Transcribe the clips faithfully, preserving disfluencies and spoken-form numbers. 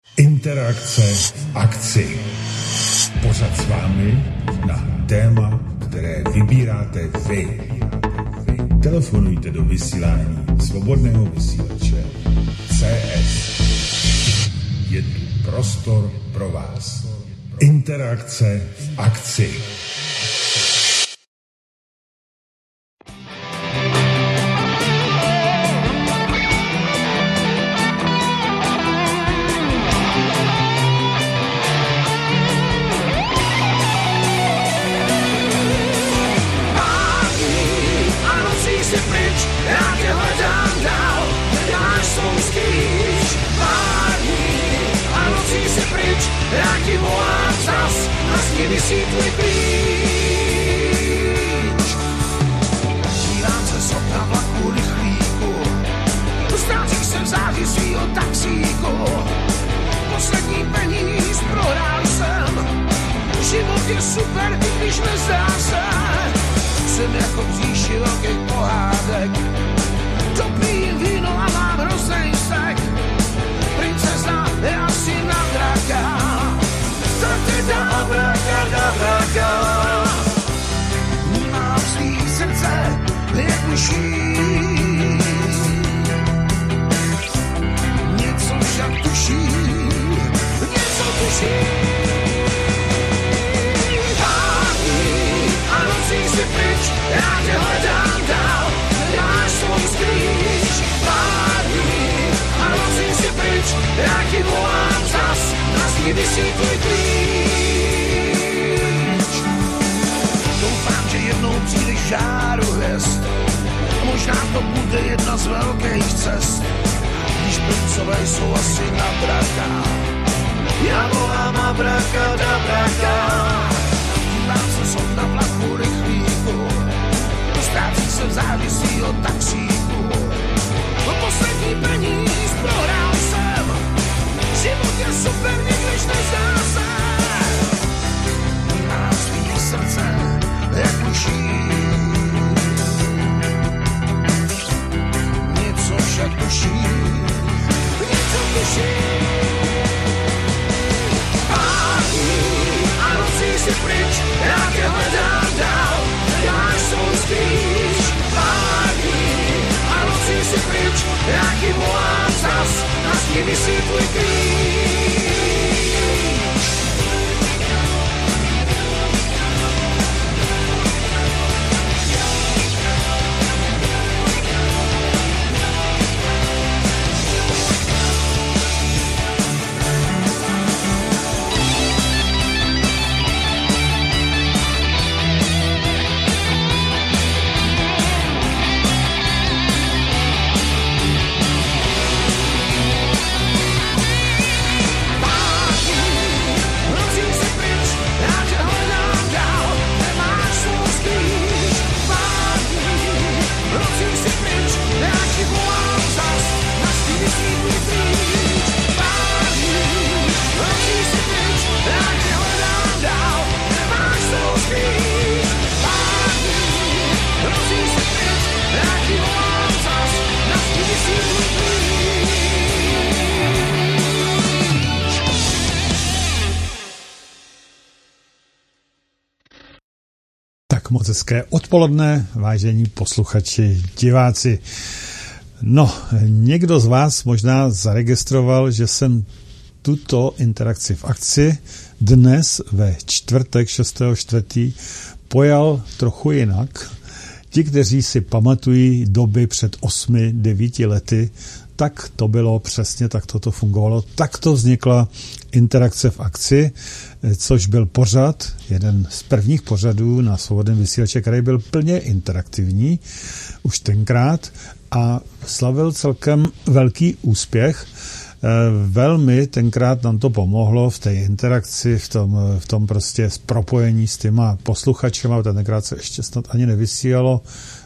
Interakce v akci. Pořad s vámi na téma, které vybíráte vy. Telefonujte do vysílání Svobodného vysílače C S. Je tu prostor pro vás. Interakce v akci. Vysvětli klíč. Dívám se z okna vlaku rychlíku, ztrácím se v záři svýho taxíku. Poslední peníz prohrál jsem, život je super, i když nezdá se. Jsem jako v říši velkých pohádek, dopijím víno a mám hroznej vztek. Princezna je asi na draka, Tratida abrakadabra. Mám svý srdce jak myší, něco však tuší, něco tuší. Hájí a nocí si pryč, já tě hledám dál, hledáš svou skrýč. Hájí a nocí si pryč, já ti volám zas, na zdi visí tvůj klíč. Doufám, že jednou přijdeš žáru hvězd, a možná to bude jedna z velkých cest, když princové jsou asi na draka. Já volám abrakadabraka. Dívám se z okna vlaku rychlíku, ztrácí se v zádi svýho taxíku. O poslední peníz prohrál jsem, život je super, nikdyž nezdá se. Má svý srdce jak myší, něco však tuší, něco tuší. Hájí a nocí si pryč, já tě hledám dál, hledáš svou skrýč. Hájí a nocí si pryč, já ti volám zas, na zdi visí tvůj klíč. Moc hezké odpoledne, vážení posluchači, diváci. No, někdo z vás možná zaregistroval, že jsem tuto interakci v akci dnes ve čtvrtek šestého čtvrtého pojal trochu jinak. Ti, kteří si pamatují doby před osmi, devíti lety, tak to bylo přesně, tak toto fungovalo. Tak to vznikla interakce v akci, což byl pořad, jeden z prvních pořadů na Svobodném vysílači, který byl plně interaktivní už tenkrát a slavil celkem velký úspěch. Velmi tenkrát nám to pomohlo v té interakci, v tom, v tom prostě propojení s těma posluchačema, tenkrát se ještě snad ani nevysílalo,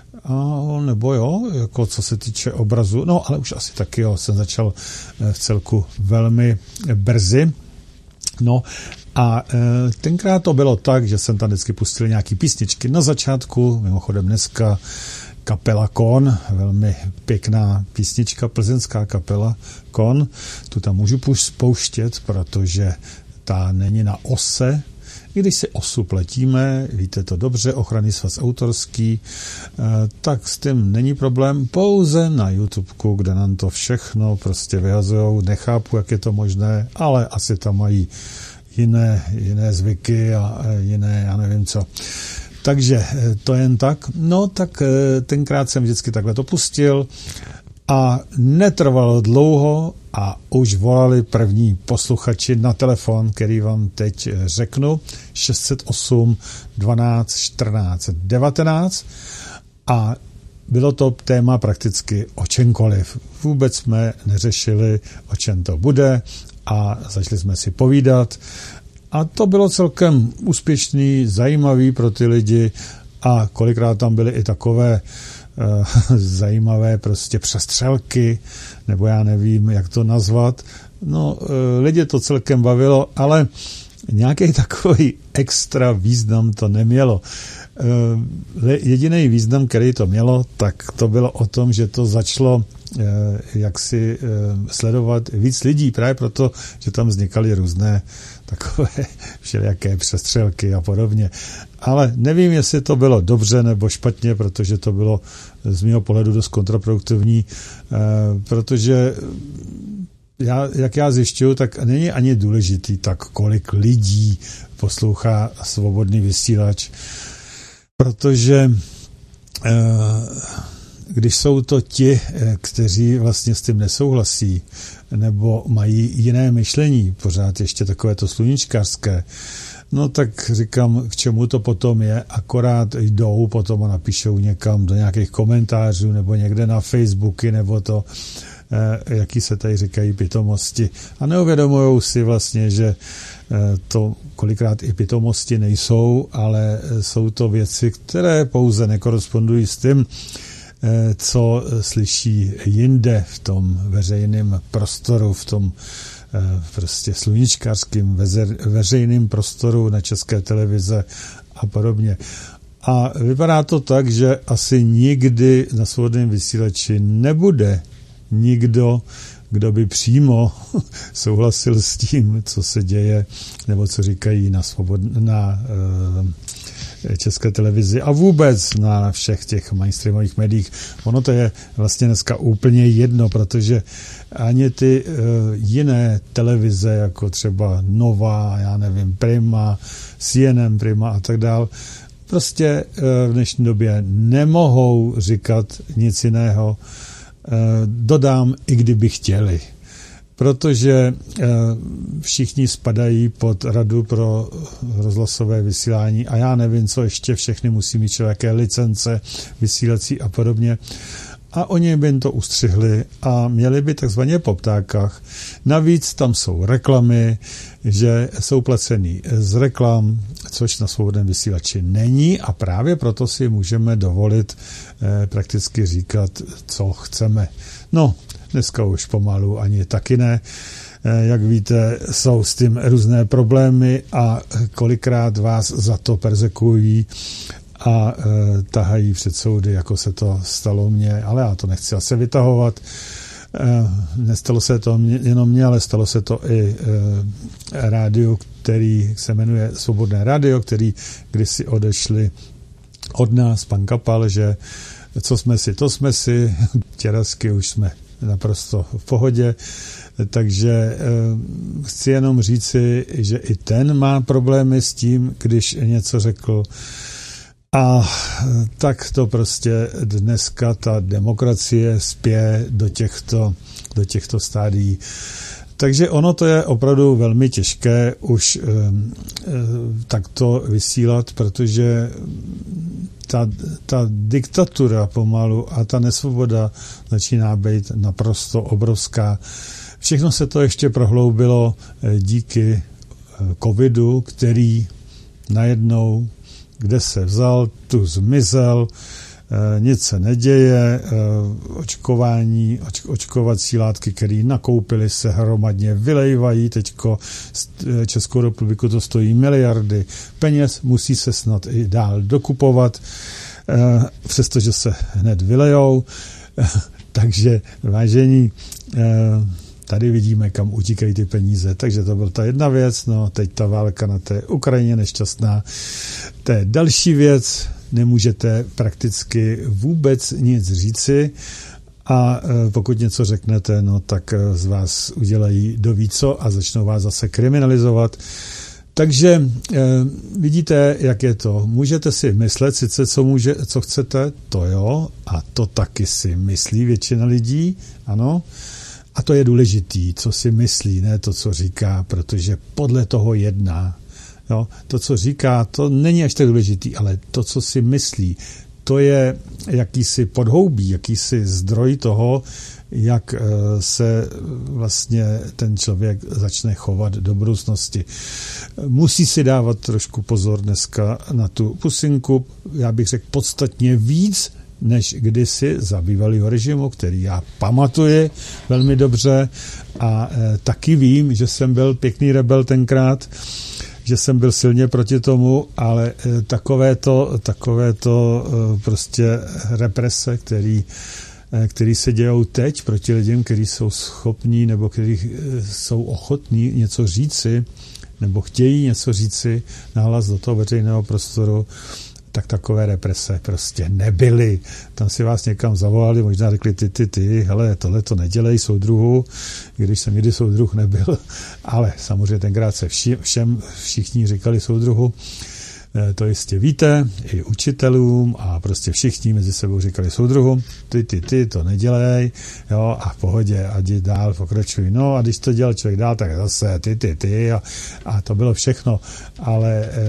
a nebo jo, jako co se týče obrazu, no ale už asi taky jo, jsem začal v celku velmi brzy. No a e, tenkrát to bylo tak, že jsem tam vždycky pustil nějaký písničky na začátku, mimochodem dneska kapela Kon, velmi pěkná písnička, plzeňská kapela Kon. Tu tam můžu pouštět, protože ta není na ose. I když si osu platíme, víte to dobře, ochranný svaz autorský, tak s tím není problém, pouze na YouTubeku, kde nám to všechno prostě vyhazujou, nechápu, jak je to možné, ale asi tam mají jiné, jiné zvyky a jiné, já nevím co. Takže to jen tak. No tak tenkrát jsem vždycky takhle to pustil a netrvalo dlouho a už volali první posluchači na telefon, který vám teď řeknu, šest set osm dvanáct čtrnáct devatenáct, a bylo to téma prakticky o čemkoliv. Vůbec jsme neřešili, o čem to bude, a začali jsme si povídat. A to bylo celkem úspěšný, zajímavý pro ty lidi, a kolikrát tam byly i takové uh, zajímavé prostě přestřelky, nebo já nevím, jak to nazvat. No, uh, lidi to celkem bavilo, ale nějaký takový extra význam to nemělo. Uh, jediný význam, který to mělo, tak to bylo o tom, že to začalo uh, jaksi uh, sledovat víc lidí, právě proto, že tam vznikaly různé takové všelijaké přestřelky a podobně. Ale nevím, jestli to bylo dobře nebo špatně, protože to bylo z mého pohledu dost kontraproduktivní, protože já, jak já zjišťuju, tak není ani důležitý tak, kolik lidí poslouchá svobodný vysílač, protože když jsou to ti, kteří vlastně s tím nesouhlasí, nebo mají jiné myšlení, pořád ještě takové to sluníčkářské, no tak říkám, k čemu to potom je, akorát jdou potom a napíšou někam do nějakých komentářů, nebo někde na Facebooky, nebo to, eh, jaký se tady říkají pitomosti, a neuvědomujou si vlastně, že eh, to kolikrát i pitomosti nejsou, ale jsou to věci, které pouze nekorespondují s tím, co slyší jinde v tom veřejném prostoru, v tom prostě sluníčkářském veřejném prostoru na České televize a podobně. A vypadá to tak, že asi nikdy na svobodném vysílači nebude nikdo, kdo by přímo souhlasil s tím, co se děje, nebo co říkají na, svobod, na uh, České televizi a vůbec na všech těch mainstreamových médiích. Ono to je vlastně dneska úplně jedno, protože ani ty uh, jiné televize, jako třeba Nova, já nevím, Prima, C N N Prima a tak dál, prostě uh, v dnešní době nemohou říkat nic jiného. Uh, dodám, i kdyby chtěli. Protože všichni spadají pod Radu pro rozhlasové vysílání a já nevím, co ještě všechny musí mít člověké licence, vysílací a podobně. A oni by jim to ustřihli a měli by takzvaně po ptákách. Navíc tam jsou reklamy, že jsou placený z reklam, což na svobodném vysílači není, a právě proto si můžeme dovolit eh, prakticky říkat, co chceme. No, dneska už pomalu ani taky ne. Jak víte, jsou s tím různé problémy a kolikrát vás za to perzekují a e, tahají před soudy, jako se to stalo mně, ale já to nechci asi vytahovat. E, nestalo se to mě, jenom mně, ale stalo se to i e, rádiu, který se jmenuje Svobodné rádio, který kdysi odešli od nás, pan Kapal, že co jsme si, to jsme si, těrasky už jsme naprosto v pohodě, takže e, chci jenom říci, že i ten má problémy s tím, když něco řekl. A tak to prostě dneska ta demokracie spěje do těchto, do těchto stádií. Takže ono to je opravdu velmi těžké už e, e, takto vysílat, protože ta, ta diktatura pomalu a ta nesvoboda začíná být naprosto obrovská. Všechno se to ještě prohloubilo díky covidu, který najednou, kde se vzal, tu zmizel, nic se neděje, očkování, oč, očkovací látky, které nakoupili, se hromadně vylejvají, teďko Českou republiku to stojí miliardy peněz, musí se snad i dál dokupovat. přestože se hned vylejou. Takže vážení, tady vidíme, kam utíkají ty peníze. Takže to byla ta jedna věc, no teď ta válka na té Ukrajině nešťastná. To je další věc, nemůžete prakticky vůbec nic říci a pokud něco řeknete, no tak z vás udělají doví co a začnou vás zase kriminalizovat. Takže eh, vidíte, jak je to. Můžete si myslet sice, co, může, co chcete, to jo, a to taky si myslí většina lidí, ano. A to je důležitý, co si myslí, ne to, co říká, protože podle toho jedná. Jo? To, co říká, to není až tak důležitý, ale to, co si myslí, to je jakýsi podhoubí, jakýsi zdroj toho, jak se vlastně ten člověk začne chovat do budoucnosti. Musí si dávat trošku pozor dneska na tu pusinku, já bych řekl podstatně víc, než kdysi za bývalého režimu, který já pamatuji velmi dobře a e, taky vím, že jsem byl pěkný rebel tenkrát, že jsem byl silně proti tomu, ale e, takovéto, takovéto e, prostě represe, který který se dějou teď proti lidem, kteří jsou schopní nebo kteří jsou ochotní něco říci nebo chtějí něco říci nahlas do toho veřejného prostoru, tak takové represe prostě nebyly. Tam si vás někam zavolali, možná řekli ty, ty, ty, hele, tohle to nedělej soudruhu, když jsem nikdy soudruh nebyl, ale samozřejmě tenkrát se vši, všem všichni říkali soudruhu. To jistě víte, i učitelům a prostě všichni mezi sebou říkali soudruhům, ty, ty, ty, to nedělej, jo, a v pohodě, ať dál pokračuj. No a když to dělal člověk dál, tak zase ty, ty, ty a, a to bylo všechno, ale e,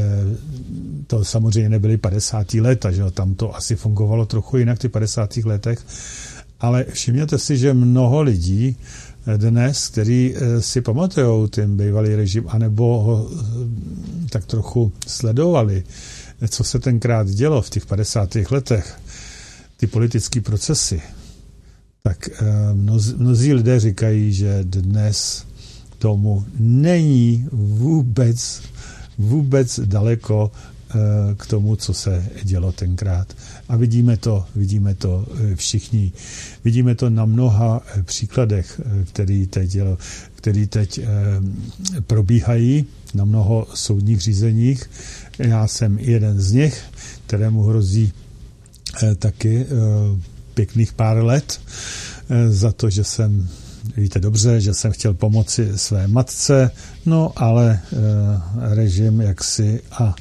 to samozřejmě nebyly padesátá léta, že jo, tam to asi fungovalo trochu jinak v těch padesátých letech, ale všimněte si, že mnoho lidí dnes, který si pamatujou ten bývalý režim, anebo ho tak trochu sledovali, co se tenkrát dělo v těch padesátých letech, ty politické procesy, tak mnozí, mnozí lidé říkají, že dnes tomu není vůbec, vůbec daleko k tomu, co se dělo tenkrát. A vidíme to, vidíme to všichni. Vidíme to na mnoha příkladech, který teď, který teď probíhají na mnoho soudních řízeních. Já jsem jeden z nich, kterému hrozí taky pěkných pár let za to, že jsem, víte dobře, že jsem chtěl pomoci své matce, no ale režim jaksi a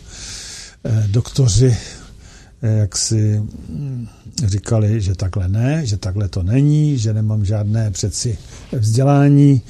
doktoři jak si říkali, že takhle ne, že takhle to není, že nemám žádné přeci vzdělání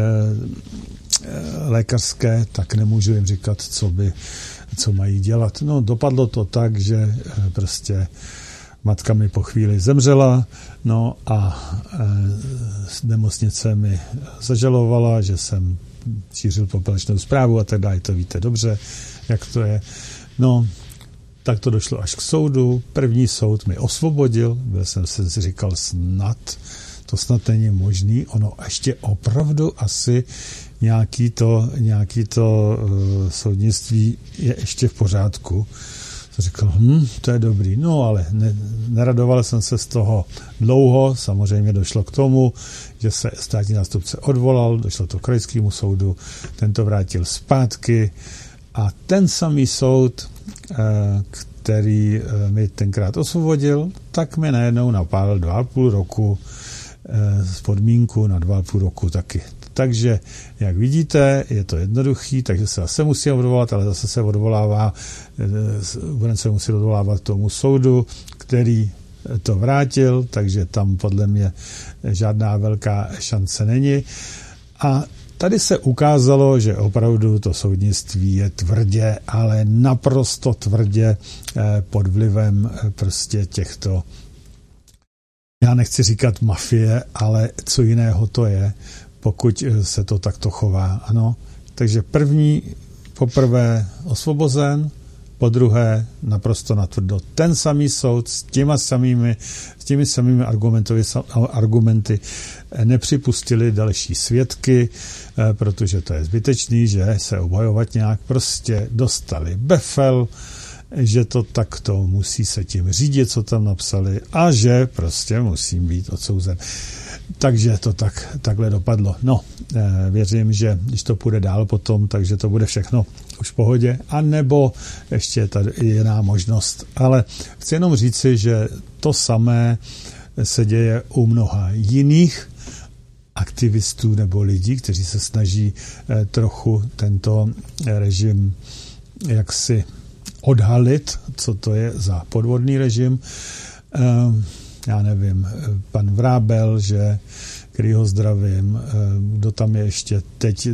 lékařské, tak nemůžu jim říkat, co by, co mají dělat. No, dopadlo to tak, že prostě matka mi po chvíli zemřela, no a nemocnice mi zažalovala, že jsem šířil popelečnou zprávu a tak dále, to víte dobře, jak to je. No, tak to došlo až k soudu. První soud mi osvobodil, byl jsem si říkal snad, to snad není možný, ono ještě opravdu asi nějaký to, nějaký to uh, soudnictví je ještě v pořádku. To říkal, hm, to je dobrý, no ale ne, neradoval jsem se z toho dlouho, samozřejmě došlo k tomu, že se státní zástupce odvolal, došlo to k krajskému soudu, ten to vrátil zpátky a ten samý soud, který mi tenkrát osvobodil, tak mi najednou napálil dva a půl roku z podmínku na dva a půl roku taky. Takže, jak vidíte, je to jednoduchý, takže se zase musí odvolat, ale zase se odvolává, budeme se muset odvolávat k tomu soudu, který to vrátil, takže tam podle mě žádná velká šance není. A tady se ukázalo, že opravdu to soudnictví je tvrdě, ale naprosto tvrdě pod vlivem prostě těchto, já nechci říkat mafie, ale co jiného to je, pokud se to takto chová. Ano. Takže první, poprvé osvobozen, po druhé naprosto natvrdo ten samý soud s těma samými, s těmi samými argumenty nepřipustili další svědky, protože to je zbytečný, že se obhajovat nějak, prostě dostali befel, že to takto musí se tím řídit, co tam napsali a že prostě musím být odsouzen. Takže to tak, takhle dopadlo. No, věřím, že když to půjde dál potom, takže to bude všechno už v pohodě, anebo ještě je tady jiná možnost. Ale chci jenom říci, že to samé se děje u mnoha jiných aktivistů nebo lidí, kteří se snaží trochu tento režim jaksi odhalit, co to je za podvodný režim. Já nevím, pan Vrábel, že, který ho zdravím, kdo tam je ještě teď,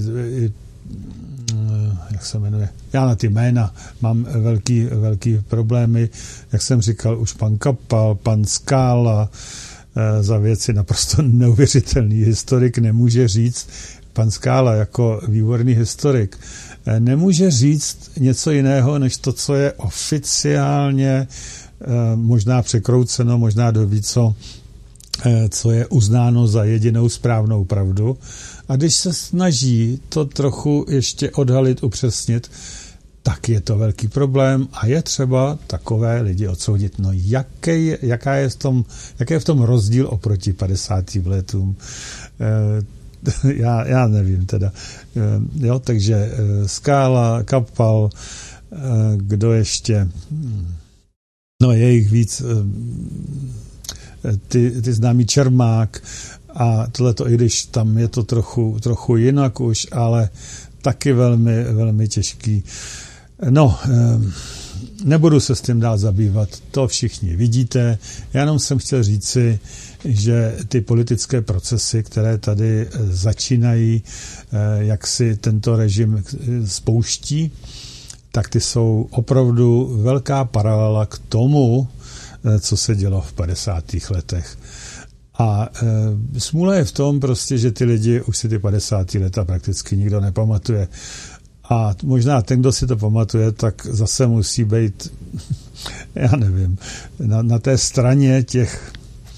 jak se jmenuje, já na ty jména mám velký, velký problémy, jak jsem říkal, už pan Kapal, pan Skála, za věci naprosto neuvěřitelný historik nemůže říct, pan Skála jako výborný historik, nemůže říct něco jiného, než to, co je oficiálně možná překrouceno, možná doví, co, co je uznáno za jedinou správnou pravdu. A když se snaží to trochu ještě odhalit, upřesnit, tak je to velký problém a je třeba takové lidi odsoudit. No jaký, jaká je v tom, jaký je v tom rozdíl oproti padesátým letům? Já, já nevím teda. Jo, takže Skála, Kapal, kdo ještě... No je jich víc, ty, ty známý Čermák a tohleto, i když tam je to trochu, trochu jinak už, ale taky velmi, velmi těžký. No, nebudu se s tím dál zabývat, to všichni vidíte, já jenom jsem chtěl říci, že ty politické procesy, které tady začínají, jak si tento režim spouští, tak ty jsou opravdu velká paralela k tomu, co se dělo v padesátých letech. A e, smůla je v tom prostě, že ty lidi už si ty padesátá leta prakticky nikdo nepamatuje. A možná ten, kdo si to pamatuje, tak zase musí být, já nevím, na, na té straně těch,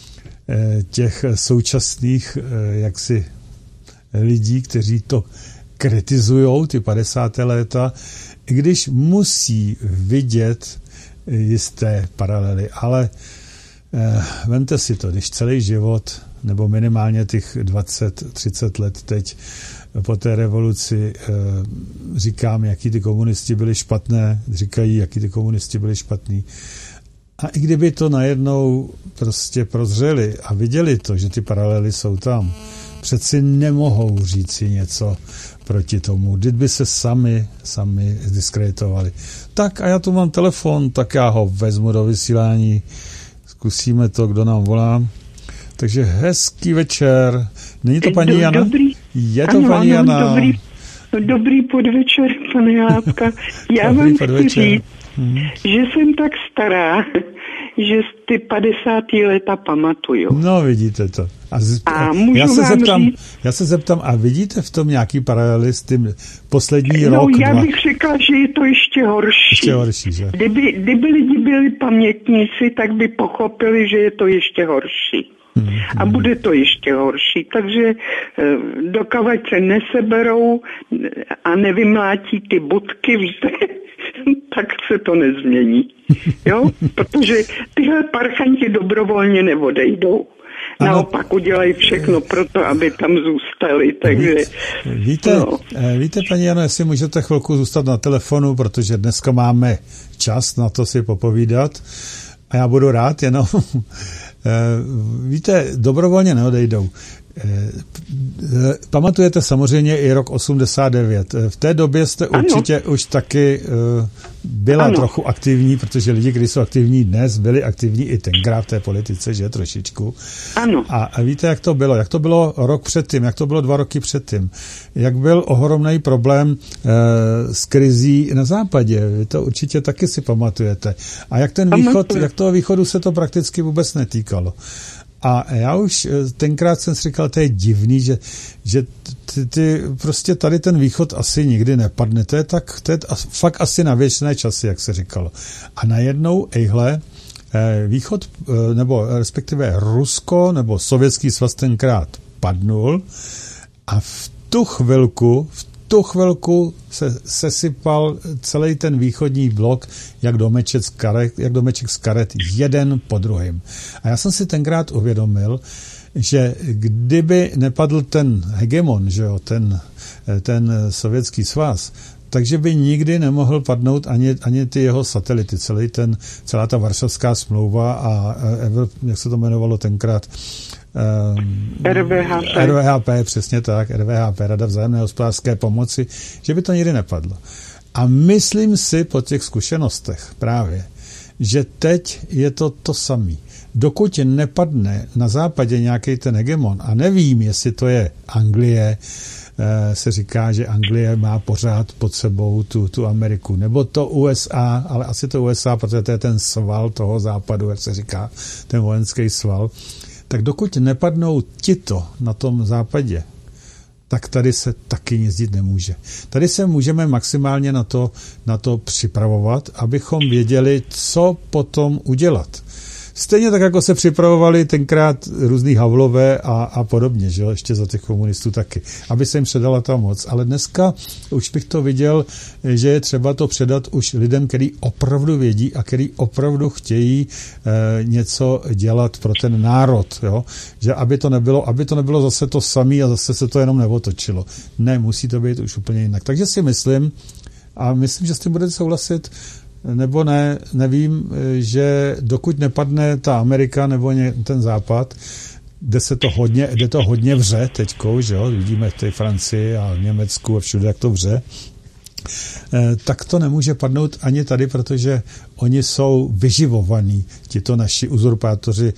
e, těch současných e, jaksi lidí, kteří to kritizujou, ty padesátá léta, i když musí vidět jisté paralely, ale eh, vemte si to, když celý život, nebo minimálně těch dvacet třicet let teď po té revoluci eh, říkám, jaký ty komunisti byli špatné, říkají, jaký ty komunisti byli špatný. A i kdyby to najednou prostě prozřeli a viděli to, že ty paralely jsou tam, přeci nemohou říci něco proti tomu, kdyby se sami, sami diskreditovali. Tak a já tu mám telefon, tak já ho vezmu do vysílání, zkusíme to, kdo nám volá. Takže hezký večer. Není to paní Jana? Dobrý. Je to ano, paní ano, Jana? Dobrý, dobrý podvečer, pane Játka. Já Dobrý vám podvečer. chci říct, hmm. že jsem tak stará, že ty padesátá léta pamatuju. No, vidíte to. A, z, a můžu já, se vám zeptám, říct, já se zeptám, a vidíte v tom nějaký paralely s tím poslední no, rok? No, já dva? bych řekla, že je to ještě horší. Ještě horší, že? Kdyby, kdyby lidi byli pamětníci, tak by pochopili, že je to ještě horší. Hmm, a hmm. bude to ještě horší. Takže dokavať se neseberou a nevymlátí ty budky, víte, tak se to nezmění. Jo? Protože tyhle parchanti dobrovolně neodejdou. Ano. Naopak udělají všechno pro to, aby tam zůstali. Takže, víte, no. víte, paní Jano, jestli můžete chvilku zůstat na telefonu, protože dneska máme čas na to si popovídat a já budu rád, jenom víte, dobrovolně neodejdou. Pamatujete samozřejmě i rok osmdesát devět. V té době jste ano. určitě už taky byla ano. trochu aktivní, protože lidi, kteří jsou aktivní dnes, byli aktivní i tenkrát v té politice, že trošičku. Ano. A, a víte, jak to bylo? Jak to bylo rok předtím? Jak to bylo dva roky předtím? Jak byl ohromný problém e, s krizí na západě? Vy to určitě taky si pamatujete. A jak ten východ, jak toho východu se to prakticky vůbec netýkalo? A já už tenkrát jsem si říkal, to je divný, že, že ty, ty prostě tady ten východ asi nikdy nepadne. To je, tak, to je fakt asi na věčné časy, jak se říkalo. A najednou, ejhle, východ, nebo respektive Rusko, nebo Sovětský svaz tenkrát padnul a v tu chvilku, v tu chvilku se sesypal celý ten východní blok, jak domeček z karet, jak domeček z karet, jeden po druhém. A já jsem si tenkrát uvědomil, že kdyby nepadl ten hegemon, že jo, ten, ten Sovětský svaz, takže by nikdy nemohl padnout ani, ani ty jeho satelity, celý ten, celá ta Varšavská smlouva a, jak se to jmenovalo tenkrát, R V H P. R V H P, přesně tak, R V H P, Rada vzájemné hospodářské pomoci, že by to nikdy nepadlo. A myslím si po těch zkušenostech právě, že teď je to to samé. Dokud nepadne na západě nějaký ten hegemon, a nevím, jestli to je Anglie, se říká, že Anglie má pořád pod sebou tu, tu Ameriku, nebo to U S A, ale asi to U S A, protože to je ten sval toho západu, jak se říká, ten vojenský sval. Tak dokud nepadnou tito na tom západě, tak tady se taky nic dít nemůže. Tady se můžeme maximálně na to, na to připravovat, abychom věděli, co potom udělat. Stejně tak, jako se připravovali tenkrát různý Havlové a, a podobně, že jo, ještě za těch komunistů taky, aby se jim předala ta moc. Ale dneska už bych to viděl, že je třeba to předat už lidem, který opravdu vědí a který opravdu chtějí e, něco dělat pro ten národ, jo, že aby to nebylo, aby to nebylo zase to samé a zase se to jenom neotočilo. Ne, musí to být už úplně jinak. Takže si myslím, a myslím, že s tím budete souhlasit, nebo ne, nevím, že dokud nepadne ta Amerika nebo ten západ, kde se to hodně, kde to hodně vře teďkou, že jo, vidíme v té Francii a v Německu a všude, jak to vře, tak to nemůže padnout ani tady, protože oni jsou vyživovaní, tito naši uzurpátoři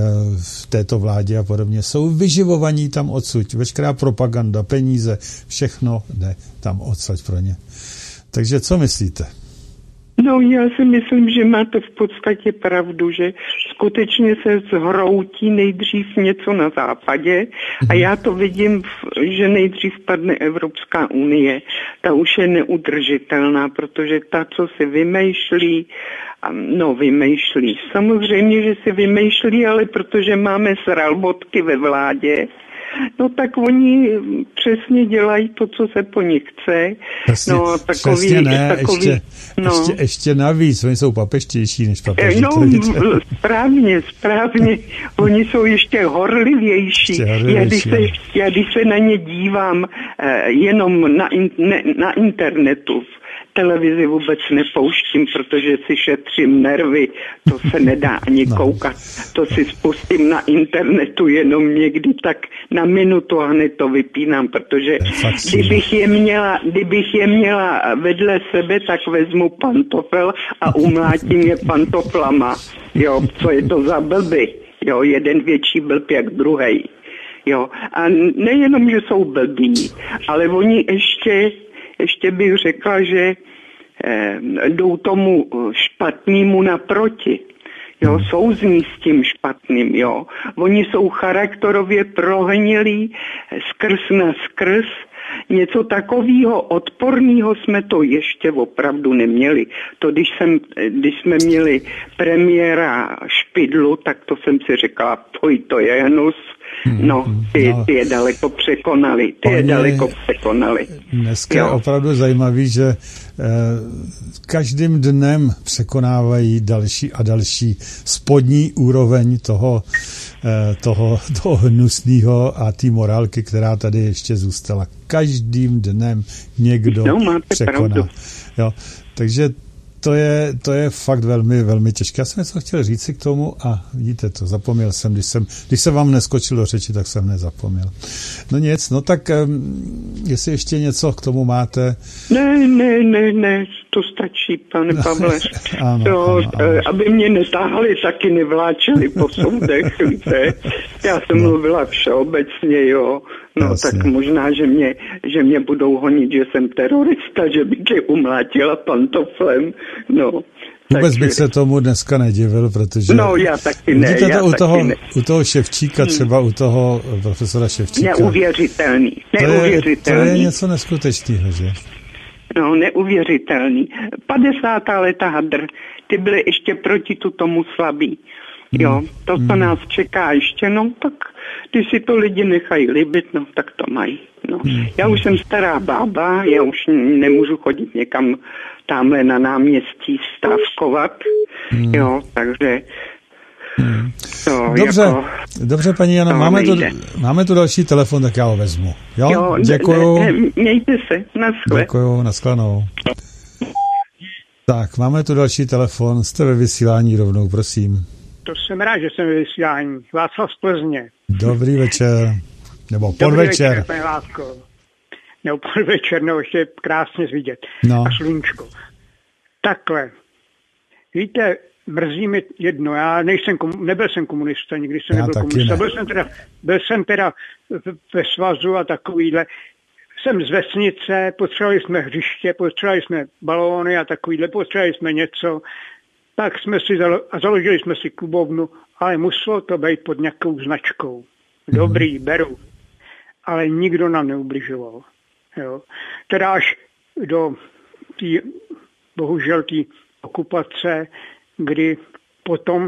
v této vládě a podobně, jsou vyživovaní tam odsud. Veškerá propaganda, peníze, všechno jde tam odsud pro ně. Takže co myslíte? No, já si myslím, že máte v podstatě pravdu, že skutečně se zhroutí nejdřív něco na západě a já to vidím, že nejdřív padne Evropská unie. Ta už je neudržitelná, protože ta, co si vymýšlí, no vymýšlí, samozřejmě, že si vymýšlí, ale protože máme sralbotky ve vládě, no tak oni přesně dělají to, co se po nich chce. Přesně, no, takový, přesně ne, takový, ještě, no. ještě, ještě navíc, oni jsou papeštější než papeži. No, správně, správně, oni jsou ještě horlivější. Ještě horlivější já, když se, já když se na ně dívám eh, jenom na, in, ne, na internetu, televizi vůbec nepouštím, protože si šetřím nervy, to se nedá ani no. koukat. To si spustím na internetu jenom někdy tak na minutu a hned to vypínám, protože kdybych je měla, kdybych je měla vedle sebe, tak vezmu pantofel a umlátím je pantoflama. Jo, co je to za blby? Jo, jeden větší blb jak druhej. Jo, a nejenom, že jsou blbí, ale oni ještě Ještě bych řekla, že eh, jdou tomu špatnému naproti. Jo, souzní s tím špatným, jo. Oni jsou charakterově prohnilí skrz na skrz. Něco takového odporného jsme to ještě opravdu neměli. To, když, jsem, když jsme měli premiéra Špidlu, tak to jsem si říkala, poj, to je Janus. No, ty, ty je daleko překonali. Ty je daleko překonali. Dneska jo. Je opravdu zajímavý, že eh, každým dnem překonávají další a další spodní úroveň toho, eh, toho, toho hnusného a té morálky, která tady ještě zůstala. Každým dnem někdo no, máte překoná. Pravdu. Jo, takže to je, to je fakt velmi, velmi těžké. Já jsem něco chtěl říct si k tomu a vidíte to, zapomněl jsem, když jsem, když jsem vám neskočil do řeči, tak jsem nezapomněl. No nic, no tak um, jestli ještě něco k tomu máte. Ne, ne, ne, ne, to stačí, pane Pavle. ano, to, ano, ano. Aby mě netáhali, taky nevláčeli po soudech, víte. Já jsem no. mluvila všeobecně, jo. No Jasně. Tak možná, že mě, že mě budou honit, že jsem terorista, že bych je umlátila pantoflem, no. Vůbec takže... bych se tomu dneska nedivil, protože... No, já taky ne, vidíte já to u taky toho, ne. U toho Ševčíka, třeba u toho profesora Ševčíka. Neuvěřitelný, neuvěřitelný. To je, to je něco neskutečného, že? No, neuvěřitelný. padesátá leta hadr, ty byly ještě proti tu tomu slabý. Jo, to, co hmm. nás čeká ještě, no tak Ty si to lidi nechají líbit, no tak to mají. No. Já už jsem stará bába, já už nemůžu chodit někam tamhle na náměstí stávkovat, hmm. jo, takže hmm. to dobře, jako, dobře paní Jano, máme tu, máme tu další telefon, tak já ho vezmu. Jo, jo děkuju. Ne, ne, mějte se, naschle. Děkuju, naschledanou. Tak, máme tu další telefon, jste ve vysílání rovnou, prosím. To jsem rád, že jsem ve vysílání. Václav z Plzně. Dobrý večer. Nebo podvečer. Dobrý večer, pane Lásko. Nebo podvečer, nebo ještě krásně vidět. No. A sluníčko. Takhle. Víte, mrzí mi jedno. Já nejsem, nebyl jsem komunista, nikdy jsem já nebyl komunista. Ne. Byl jsem teda, byl jsem teda ve svazu a takovýhle. Jsem z vesnice, potřebovali jsme hřiště, potřebovali jsme balóny a takovýhle, potřebovali jsme něco. Tak jsme si zalo- a založili jsme si klubovnu, ale muselo to být pod nějakou značkou. Dobrý, beru. Ale nikdo nám neubližoval. Jo. Teda až do tý, bohužel té okupace, kdy potom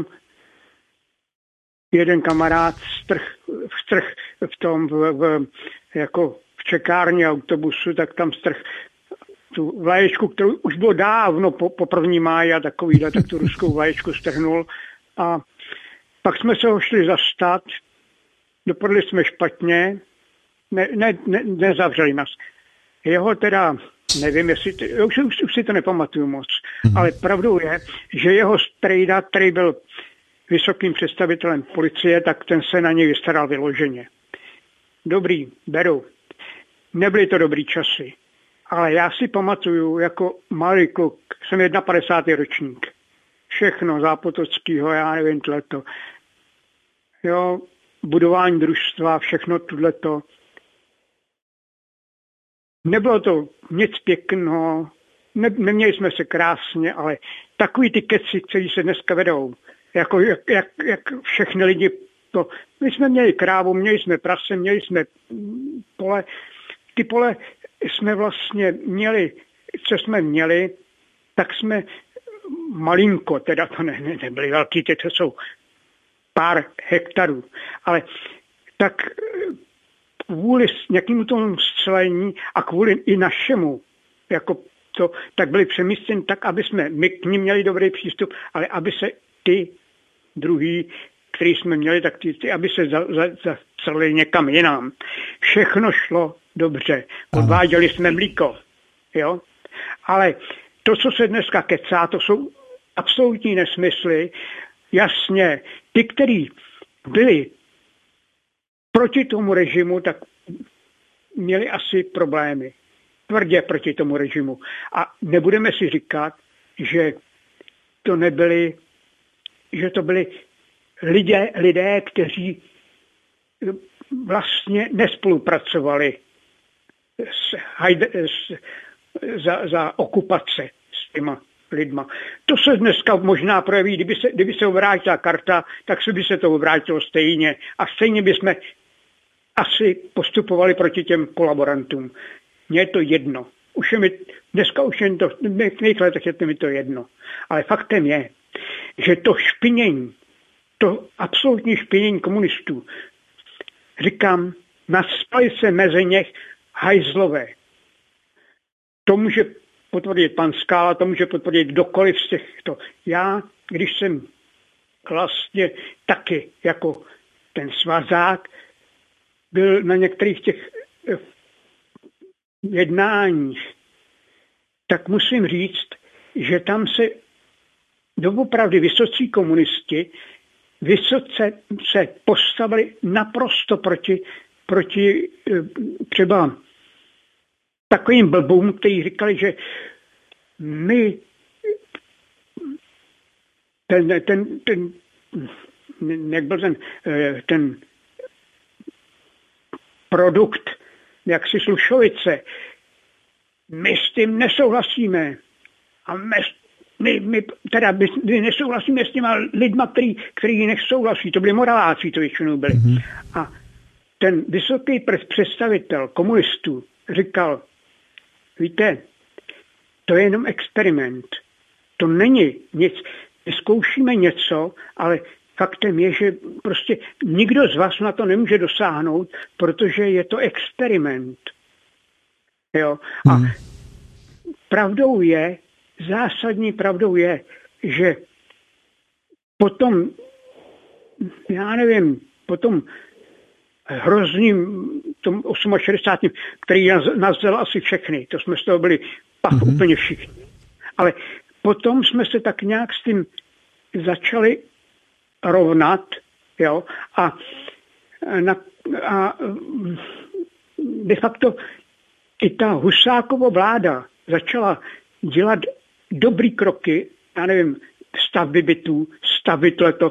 jeden kamarád strh, strh v tom, v, v, jako v čekárně autobusu, tak tam strh tu vlaječku, kterou už bylo dávno po, po první máji a takovýhle, tak tu ruskou vlaječku strhnul. A pak jsme se ho šli zastat, dopadli jsme špatně, ne, ne, ne, nezavřeli nás. Jeho teda, nevím, jestli, už, už, už si to nepamatuju moc, mm-hmm. ale pravdou je, že jeho strejda, který byl vysokým představitelem policie, tak ten se na něj vystaral vyloženě. Dobrý, beru. Nebyly to dobrý časy. Ale já si pamatuju, jako malý kluk, jsem padesátý první ročník. Všechno Zápotockýho, já nevím, tohleto. Jo, budování družstva, všechno tohleto. Nebylo to nic pěkného, ne, neměli jsme se krásně, ale takový ty keci, který se dneska vedou, jako jak, jak, jak všechny lidi, to, my jsme měli krávu, měli jsme prase, měli jsme pole, ty pole jsme vlastně měli, co jsme měli, tak jsme malinko, teda to ne, ne, nebyly velký, ty to jsou pár hektarů, ale tak kvůli nějakému tomu scélení a kvůli i našemu, jako to, tak byli přemístěni tak, aby jsme my k nim měli dobrý přístup, ale aby se ty druhý, který jsme měli, tak ty, ty aby se zacelili za, za někam jinam. Všechno šlo dobře. Odváděli jsme mlíko. Jo? Ale to, co se dneska kecá, to jsou absolutní nesmysly. Jasně, ty, kteří byli proti tomu režimu, tak měli asi problémy. Tvrdě proti tomu režimu. A nebudeme si říkat, že to nebyli, že to byli lidé, lidé, kteří vlastně nespolupracovali s, s, za, za okupace s těma lidma. To se dneska možná projeví, kdyby se, kdyby se obrátila karta, tak se by se to obrátilo stejně. A stejně bychom asi postupovali proti těm kolaborantům. Mně je to jedno. Už je mi, dneska už jen to, v mých letech je to mi to jedno. Ale faktem je, že to špinění, to absolutní špinění komunistů, říkám, naspali se mezi něch hajzlové. To může potvrdit pan Skála, to může potvrdit kdokoliv z těchto. Já, když jsem vlastně taky jako ten svazák, byl na některých těch jednáních, tak musím říct, že tam se doopravdy vysocí komunisti vysoce se postavili naprosto proti, proti třeba takovým blbům, kteří říkali, že my ten, ten, ten jak byl ten, ten produkt, jak si Slušovice, my s tím nesouhlasíme. A my, my, my teda my, my nesouhlasíme s těma lidma, který, který nesouhlasí. To byli moraláci, to většinou byli. Mm-hmm. A ten vysoký představitel komunistů říkal, víte, to je jenom experiment. To není nic. My zkoušíme něco, ale faktem je, že prostě nikdo z vás na to nemůže dosáhnout, protože je to experiment. Jo? A hmm. pravdou je, zásadní pravdou je, že potom, já nevím, potom hrozným, tom šedesátém osmém, který nás vzal asi všechny, to jsme z toho byli pak mm-hmm. úplně všichni. Ale potom jsme se tak nějak s tím začali rovnat, jo, a, na, a de facto i ta Husákova vláda začala dělat dobrý kroky, já nevím, stavby bytů, stavit leto,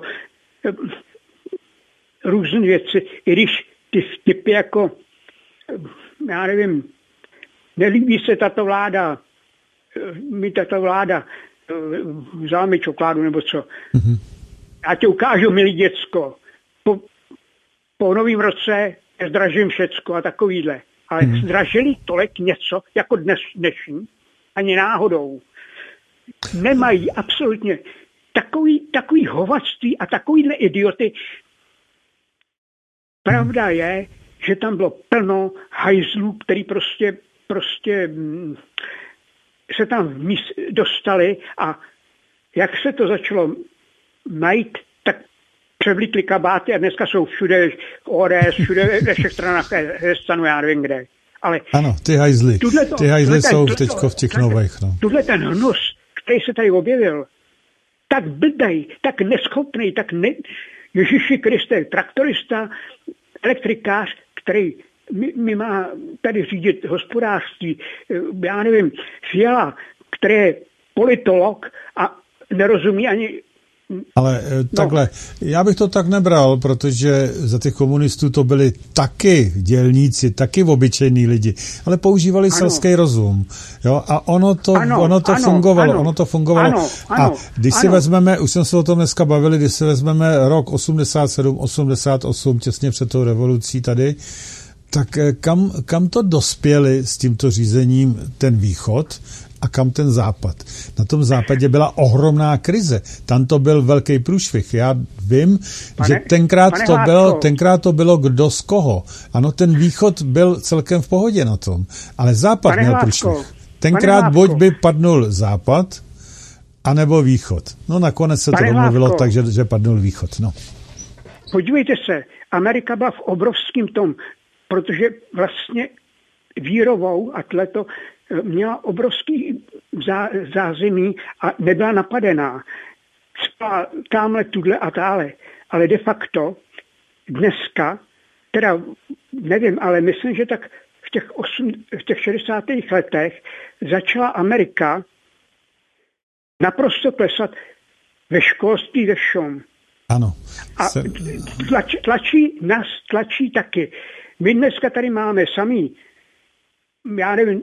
různé věci, i když ty vtipy jako, já nevím, nelíbí se tato vláda, mi tato vláda vzala mi čokoládu nebo co. Mm-hmm. Já ti ukážu, milý děcko, po, po novém roce zdražím všecko a takovýhle. Ale mm-hmm. zdražili tolik něco, jako dnes, dnešní, ani náhodou. Nemají absolutně takový, takový hovadství a takovýhle idioty. Pravda je, že tam bylo plno hajzlů, který prostě, prostě se tam dostali a jak se to začalo najít, tak převlítli kabáty a dneska jsou všude O D S, všude ve všech stranách stanu, já nevím kde. Ale ano, ty hajzly. Ty hajzly jsou teďko v těch nových. No. Tuhle ten hnus, který se tady objevil, tak blbej, tak neschopný, tak ne... Ježíši Kriste, traktorista, elektrikář, který mi, mi má tady řídit hospodářství, já nevím, Fiala, který je politolog a nerozumí ani... Ale no. takhle, já bych to tak nebral, protože za těch komunistů to byli taky dělníci, taky obyčejní lidi, ale používali ano. selský rozum. Jo? A ono to, ano, ono to ano, fungovalo. Ano, ono to fungovalo. Ano, ano, a když ano. si vezmeme, už jsme se o tom dneska bavili, když si vezmeme rok osmdesát sedm osmdesát osm, těsně před tou revolucí tady, tak kam, kam to dospěli s tímto řízením ten východ a kam ten západ? Na tom západě byla ohromná krize. Tam to byl velký průšvih. Já vím, pane, že tenkrát to, bylo, tenkrát to bylo kdo z koho. Ano, ten východ byl celkem v pohodě na tom. Ale západ pane měl Hlásko, průšvih. Tenkrát buď by padnul západ, anebo východ. No nakonec se pane to domluvilo tak, že, že padnul východ. No. Podívejte se, Amerika byla v obrovském tom, protože vlastně výrovou a tleto měla obrovský zá, zázemí a nebyla napadená. Spala tamhle, tudle a tále. Ale de facto dneska, teda nevím, ale myslím, že tak v těch, osm, v těch šedesátých letech začala Amerika naprosto klesat ve školství, ve všem. Ano. A tlač, tlačí nás, tlačí taky. My dneska tady máme samý, já nevím,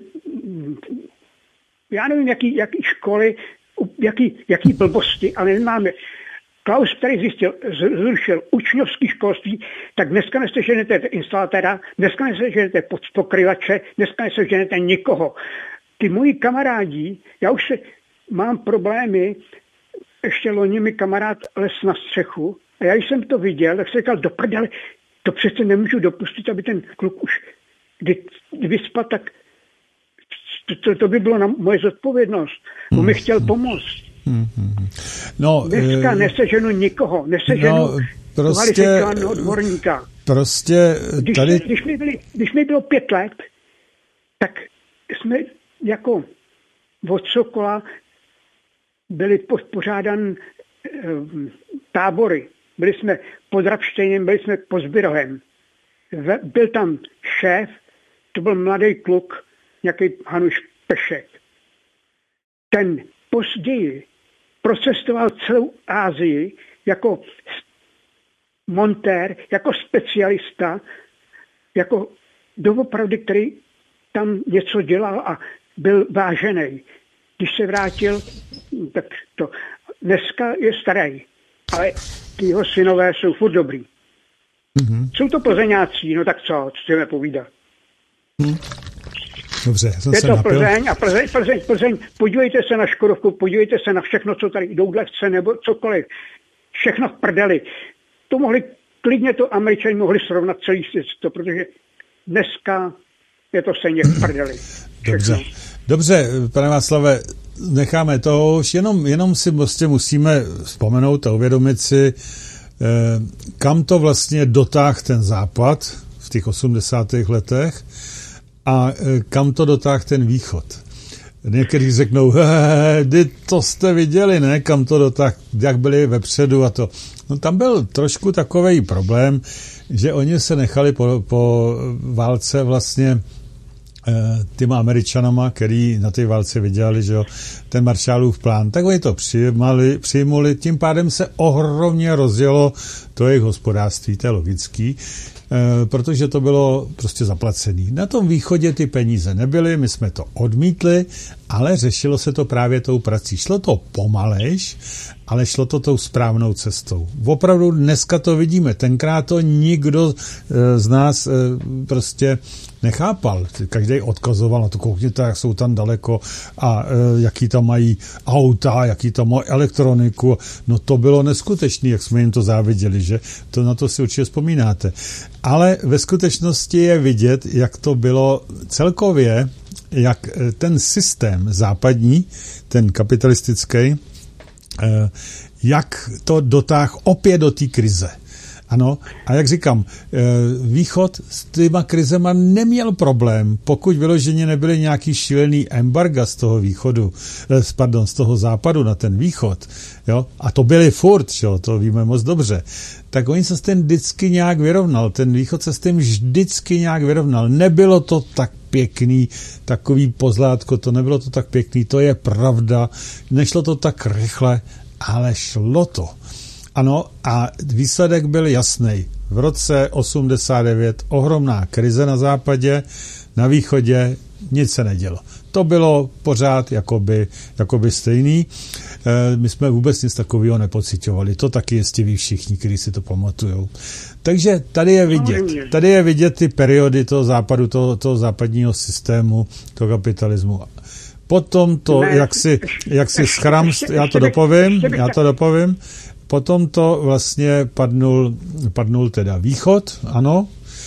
já nevím, jaký, jaký školy, jaký, jaký blbosti, ale máme. Klaus, který zjistil, zrušil učňovský školství, tak dneska neseženete instalatéra, dneska neseženete pokryvače, dneska neseženete nikoho. Ty moji kamarádi, já už se, mám problémy, ještě loni mi kamarád les na střechu a já jsem to viděl, tak jsem říkal, do prdele, to přece nemůžu dopustit, aby ten kluk už kdy vyspat, tak to, to, to by bylo na moje zodpovědnost. On hmm. mi chtěl pomoct. Hmm. No, dneska e... neseženu nikoho, neseženu no, prostě, odborníka. Prostě když, tady... Když mi, byli, když mi bylo pět let, tak jsme jako od Sokola byli pořádan e, tábory. Byli jsme pod Rapštejnem, byli jsme pod Zbyrohem. Byl tam šéf, to byl mladý kluk, nějaký Hanuš Pešek. Ten později procestoval celou Asii jako montér, jako specialista, jako doopravdy, který tam něco dělal a byl vážený. Když se vrátil, tak to dneska je starý, ale ty jeho synové jsou furt dobrý. Mm-hmm. Jsou to Plzeňáci, no tak co, co chceme povídat. Mm. Dobře, jsem je se to napil. Plzeň a Plzeň, Plzeň, Plzeň, podívejte se na Škodovku, podívejte se na všechno, co tady doudlevce nebo cokoliv. všechno v prdeli. To mohli, klidně to Američani mohli srovnat celý svět, protože dneska je to stejně v prdeli. Dobře, dobře, pane Václave, necháme to už, jenom, jenom si prostě musíme vzpomenout a uvědomit si, eh, kam to vlastně dotáhl ten západ v těch osmdesátých letech a eh, kam to dotáhl ten východ. Někteří řeknou, he, to jste viděli, ne, kam to dotáhl, jak byli vepředu a to. No tam byl trošku takovej problém, že oni se nechali po, po válce vlastně těma Američanama, který na té válce vydělali, že jo, ten Marshallův plán, tak oni to přijmali, přijmuli, tím pádem se ohromně rozjelo to jejich hospodářství, to je logický, e, protože to bylo prostě zaplacený. Na tom východě ty peníze nebyly, my jsme to odmítli, ale řešilo se to právě tou prací. Šlo to pomalejš, ale šlo to tou správnou cestou. Opravdu dneska to vidíme, tenkrát to nikdo e, z nás e, prostě nechápal. Každý odkazoval na to, koukněte, jak jsou tam daleko a e, jaký tam mají auta, jaký tam mají elektroniku. No to bylo neskutečné, jak jsme jim to záviděli, že? To na to si určitě vzpomínáte. Ale ve skutečnosti je vidět, jak to bylo celkově, jak ten systém západní, ten kapitalistický, e, jak to dotáhl opět do té krize. Ano, a jak říkám, východ s těma krizema neměl problém, pokud vyloženě nebyly nějaký šílený embarga z toho východu, pardon, z toho západu na ten východ, jo, a to byly furt, jo, to víme moc dobře, tak oni se s tím vždycky nějak vyrovnal, ten východ se s tím vždycky nějak vyrovnal, nebylo to tak pěkný, takový pozlátko, to nebylo to tak pěkný, to je pravda, nešlo to tak rychle, ale šlo to. Ano, a výsledek byl jasný. V roce osmdesát devět ohromná krize na západě, na východě nic se nedělo. To bylo pořád jakoby, jakoby stejný. E, my jsme vůbec nic takového nepociťovali. To taky jistě ví všichni, kteří si to pamatujou. Takže tady je vidět, tady je vidět ty periody toho západu, toho, toho západního systému, toho kapitalismu. Potom to, ne, jak si, jak si schram, já to dopovím, já to dopovím, potom to vlastně padnul, padnul teda východ, ano,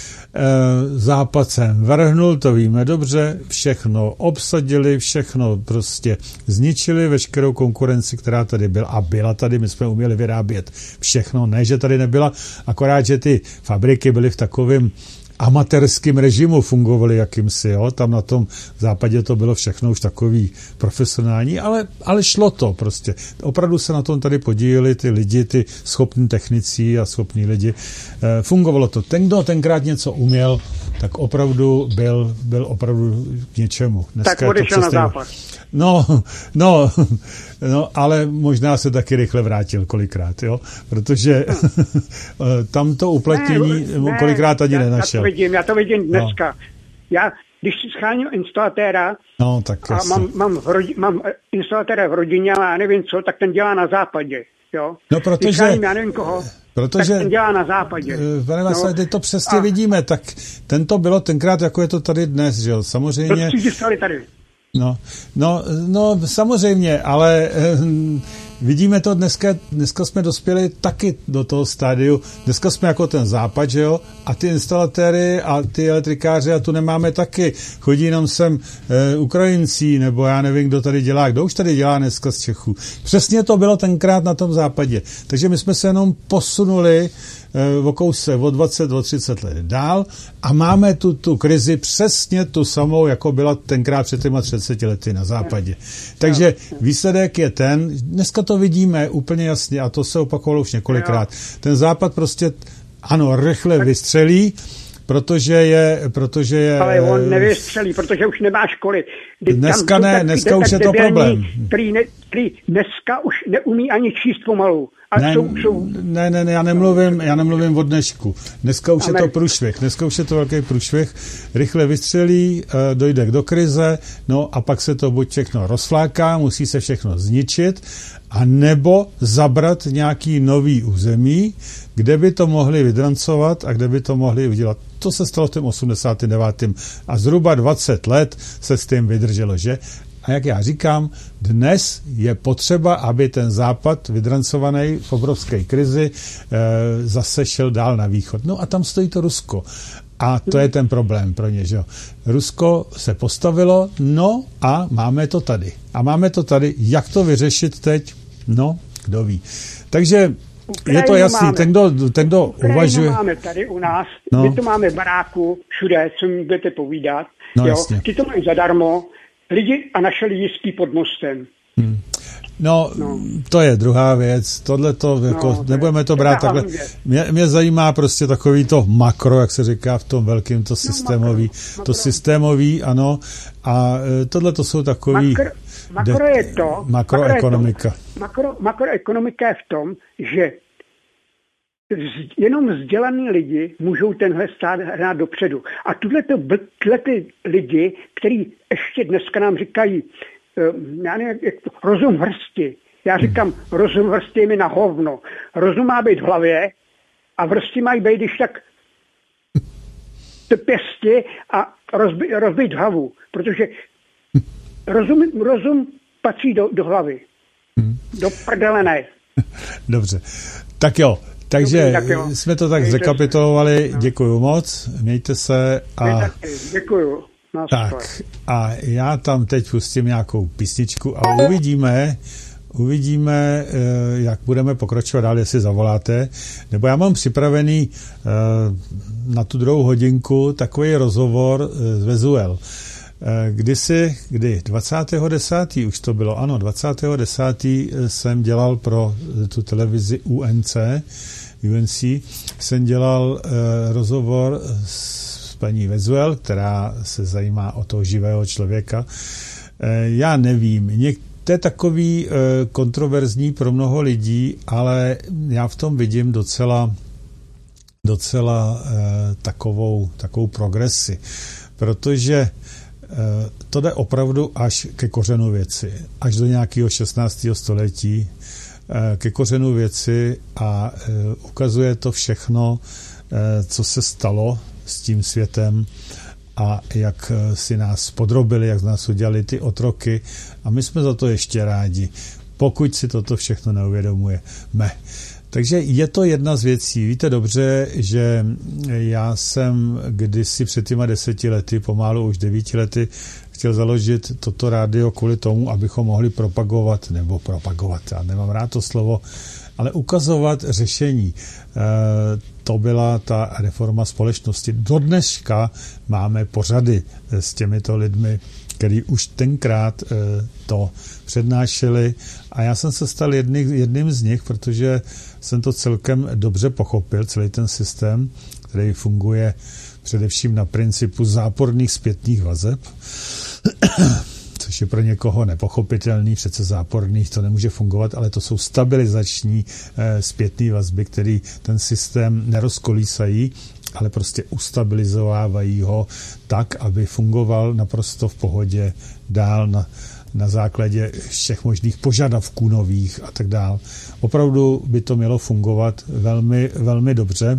e, západ sem vrhnul, to víme dobře, všechno obsadili, všechno prostě zničili, veškerou konkurenci, která tady byla a byla tady, my jsme uměli vyrábět všechno, ne, že tady nebyla, akorát, že ty fabriky byly v takovém amatérském režimu fungovaly jakýmsi, jo, tam na tom západě to bylo všechno už takový profesionální, ale, ale šlo to prostě. Opravdu se na tom tady podíleli ty lidi, ty schopní technici a schopní lidi. E, fungovalo to. Ten, kdo tenkrát něco uměl, tak opravdu byl, byl opravdu k něčemu. Dneska tak odešel na západ. No, no, no, ale možná se taky rychle vrátil kolikrát, jo, protože tam to uplatnění ne, ne, kolikrát ani já, nenašel. Já to vidím, já to vidím dneska. No. Já, když si scháním instalatéra no, tak a mám, mám, v rodi, mám instalatéra v rodině, ale já nevím co, tak ten dělá na západě, jo. No, protože... Když scháním, já nevím koho, Protože, tak ten dělá na západě. Pane Václav, no, to přesně a, vidíme, tak ten to bylo tenkrát, jako je to tady dnes, že jo, samozřejmě... To tady. No, no, no, samozřejmě, ale eh, vidíme to dneska, dneska jsme dospěli taky do toho stádiu, dneska jsme jako ten západ, že jo, a ty instalatéry a ty elektrikáři a tu nemáme taky, chodí jenom sem eh, Ukrajincí, nebo já nevím, kdo tady dělá, kdo už tady dělá dneska z Čechů. Přesně to bylo tenkrát na tom západě, takže my jsme se jenom posunuli o kouse o dvacet, o třicet let dál a máme tu, tu krizi přesně tu samou, jako byla tenkrát před těma třiceti lety na západě. Takže výsledek je ten, dneska to vidíme úplně jasně a to se opakovalo už několikrát. Ten západ prostě, ano, rychle vystřelí, protože je, protože je... Ale on nevystřelí, protože už nemá školy. Dneska ne, dneska už je to problém. Který, ne, který dneska už neumí ani číst pomalu. A ne, jsou, jsou... ne, ne, ne, já nemluvím, já nemluvím o dnešku. Dneska už Amen. Je to průšvih, dneska už je to velký průšvih. Rychle vystřelí, dojde do krize, no a pak se to buď všechno rozfláká, musí se všechno zničit, a nebo zabrat nějaký nový území, kde by to mohli vydrancovat a kde by to mohli udělat. To se stalo v tom osmdesátém devátém a zhruba dvacet let se s tím vydrželo, že? A jak já říkám, dnes je potřeba, aby ten západ, vydrancovaný v obrovské krizi, zase šel dál na východ. No a tam stojí to Rusko. A to je ten problém pro ně, že jo. Rusko se postavilo, no a máme to tady. A máme to tady. Jak to vyřešit teď? No, kdo ví. Takže Ukrajinu je to jasný. Ten, kdo, ten, kdo uvažuje... máme tady u nás. No. My to máme v baráku, všude, co mi budete povídat. No, jo. Jasně. Ty to mají zadarmo. Lidi a naše lidi spí pod mostem. Hmm. No, no, to je druhá věc. Tohle to, jako, no, nebudeme to brát takhle. Mě, mě zajímá prostě takový to makro, jak se říká v tom velkým, to systémový. No, to systémový, ano. A tohle to jsou takový... Makro, makro je to... Makroekonomika. Makro, makroekonomika je v tom, že jenom vzdělaný lidi můžou tenhle stát hrát dopředu. A tyhle ty lidi, kteří ještě dneska nám říkají, já nevím, jak to, rozum hrsti. Já říkám, rozum hrsti je mi na hovno. Rozum má být v hlavě a vrsti mají být, když tak pěsti a rozbít, rozbít hlavu. Protože rozum, rozum patří do, do hlavy. Do prdele ne. Dobře. Tak jo. Takže Dobrý, tak jo. jsme to tak Mějte zrekapitulovali. No. Děkuju moc. Mějte se. A... Děkuju. No, tak a já tam teď pustím nějakou písničku a uvidíme, uvidíme, jak budeme pokračovat dál, jestli zavoláte. Nebo já mám připravený na tu druhou hodinku takový rozhovor z Vezuel. Kdysi, kdy dvacátého desátého už to bylo, ano, dvacátého desátého jsem dělal pro tu televizi U N C, U N C, jsem dělal rozhovor s paní Vezuel, která se zajímá o toho živého člověka. Já nevím, to je takový kontroverzní pro mnoho lidí, ale já v tom vidím docela, docela takovou, takovou progresi, protože to jde opravdu až ke kořenu věci, až do nějakého šestnáctého století, ke kořenu věci a ukazuje to všechno, co se stalo s tím světem a jak si nás podrobili, jak z nás udělali ty otroky a my jsme za to ještě rádi, pokud si toto všechno neuvědomujeme. Takže je to jedna z věcí. Víte dobře, že já jsem kdysi před těma deseti lety, pomalu už devíti lety, chtěl založit toto rádio kvůli tomu, abychom mohli propagovat, nebo propagovat, já nemám rád to slovo, ale ukazovat řešení. E, to byla ta reforma společnosti. Do dneška máme pořady s těmito lidmi, který už tenkrát e, to přednášeli a já jsem se stal jedný, jedním z nich, protože jsem to celkem dobře pochopil, celý ten systém, který funguje především na principu záporných zpětných vazeb, což je pro někoho nepochopitelný, přece záporných to nemůže fungovat, ale to jsou stabilizační e, zpětné vazby, které ten systém nerozkolísají, ale prostě ustabilizovávají ho tak, aby fungoval naprosto v pohodě dál na, na základě všech možných požadavků nových a tak dál. Opravdu by to mělo fungovat velmi, velmi dobře.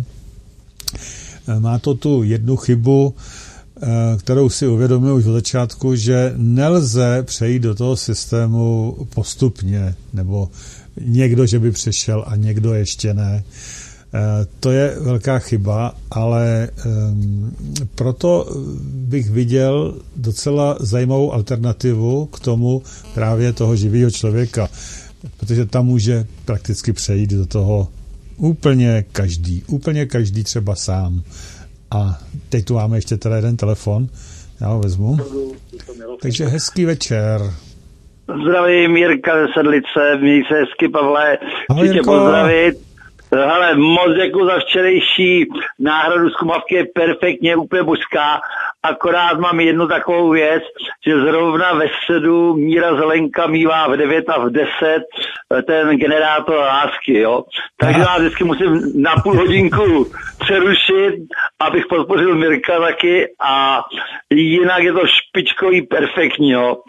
Má to tu jednu chybu, kterou si uvědomil už od začátku, že nelze přejít do toho systému postupně, nebo někdo, že by přešel a někdo ještě ne. To je velká chyba, ale um, proto bych viděl docela zajímavou alternativu k tomu právě toho živého člověka, protože tam může prakticky přejít do toho úplně každý, úplně každý třeba sám. A teď tu máme ještě teda jeden telefon, já ho vezmu. Takže hezký večer. Zdravím, Jirka ze Sedlice, měj se hezky, Pavle, chci tě pozdravit. Hele, moc děkuji za včerejší náhradu z Kumavky, je perfektně, úplně božská, akorát mám jednu takovou věc, že zrovna ve středu Míra Zelenka mívá v devět a v deset ten generátor lásky, jo. Takže já vždycky musím na půl hodinku přerušit, abych podpořil Mirka taky a jinak je to špičkový perfektní, jo.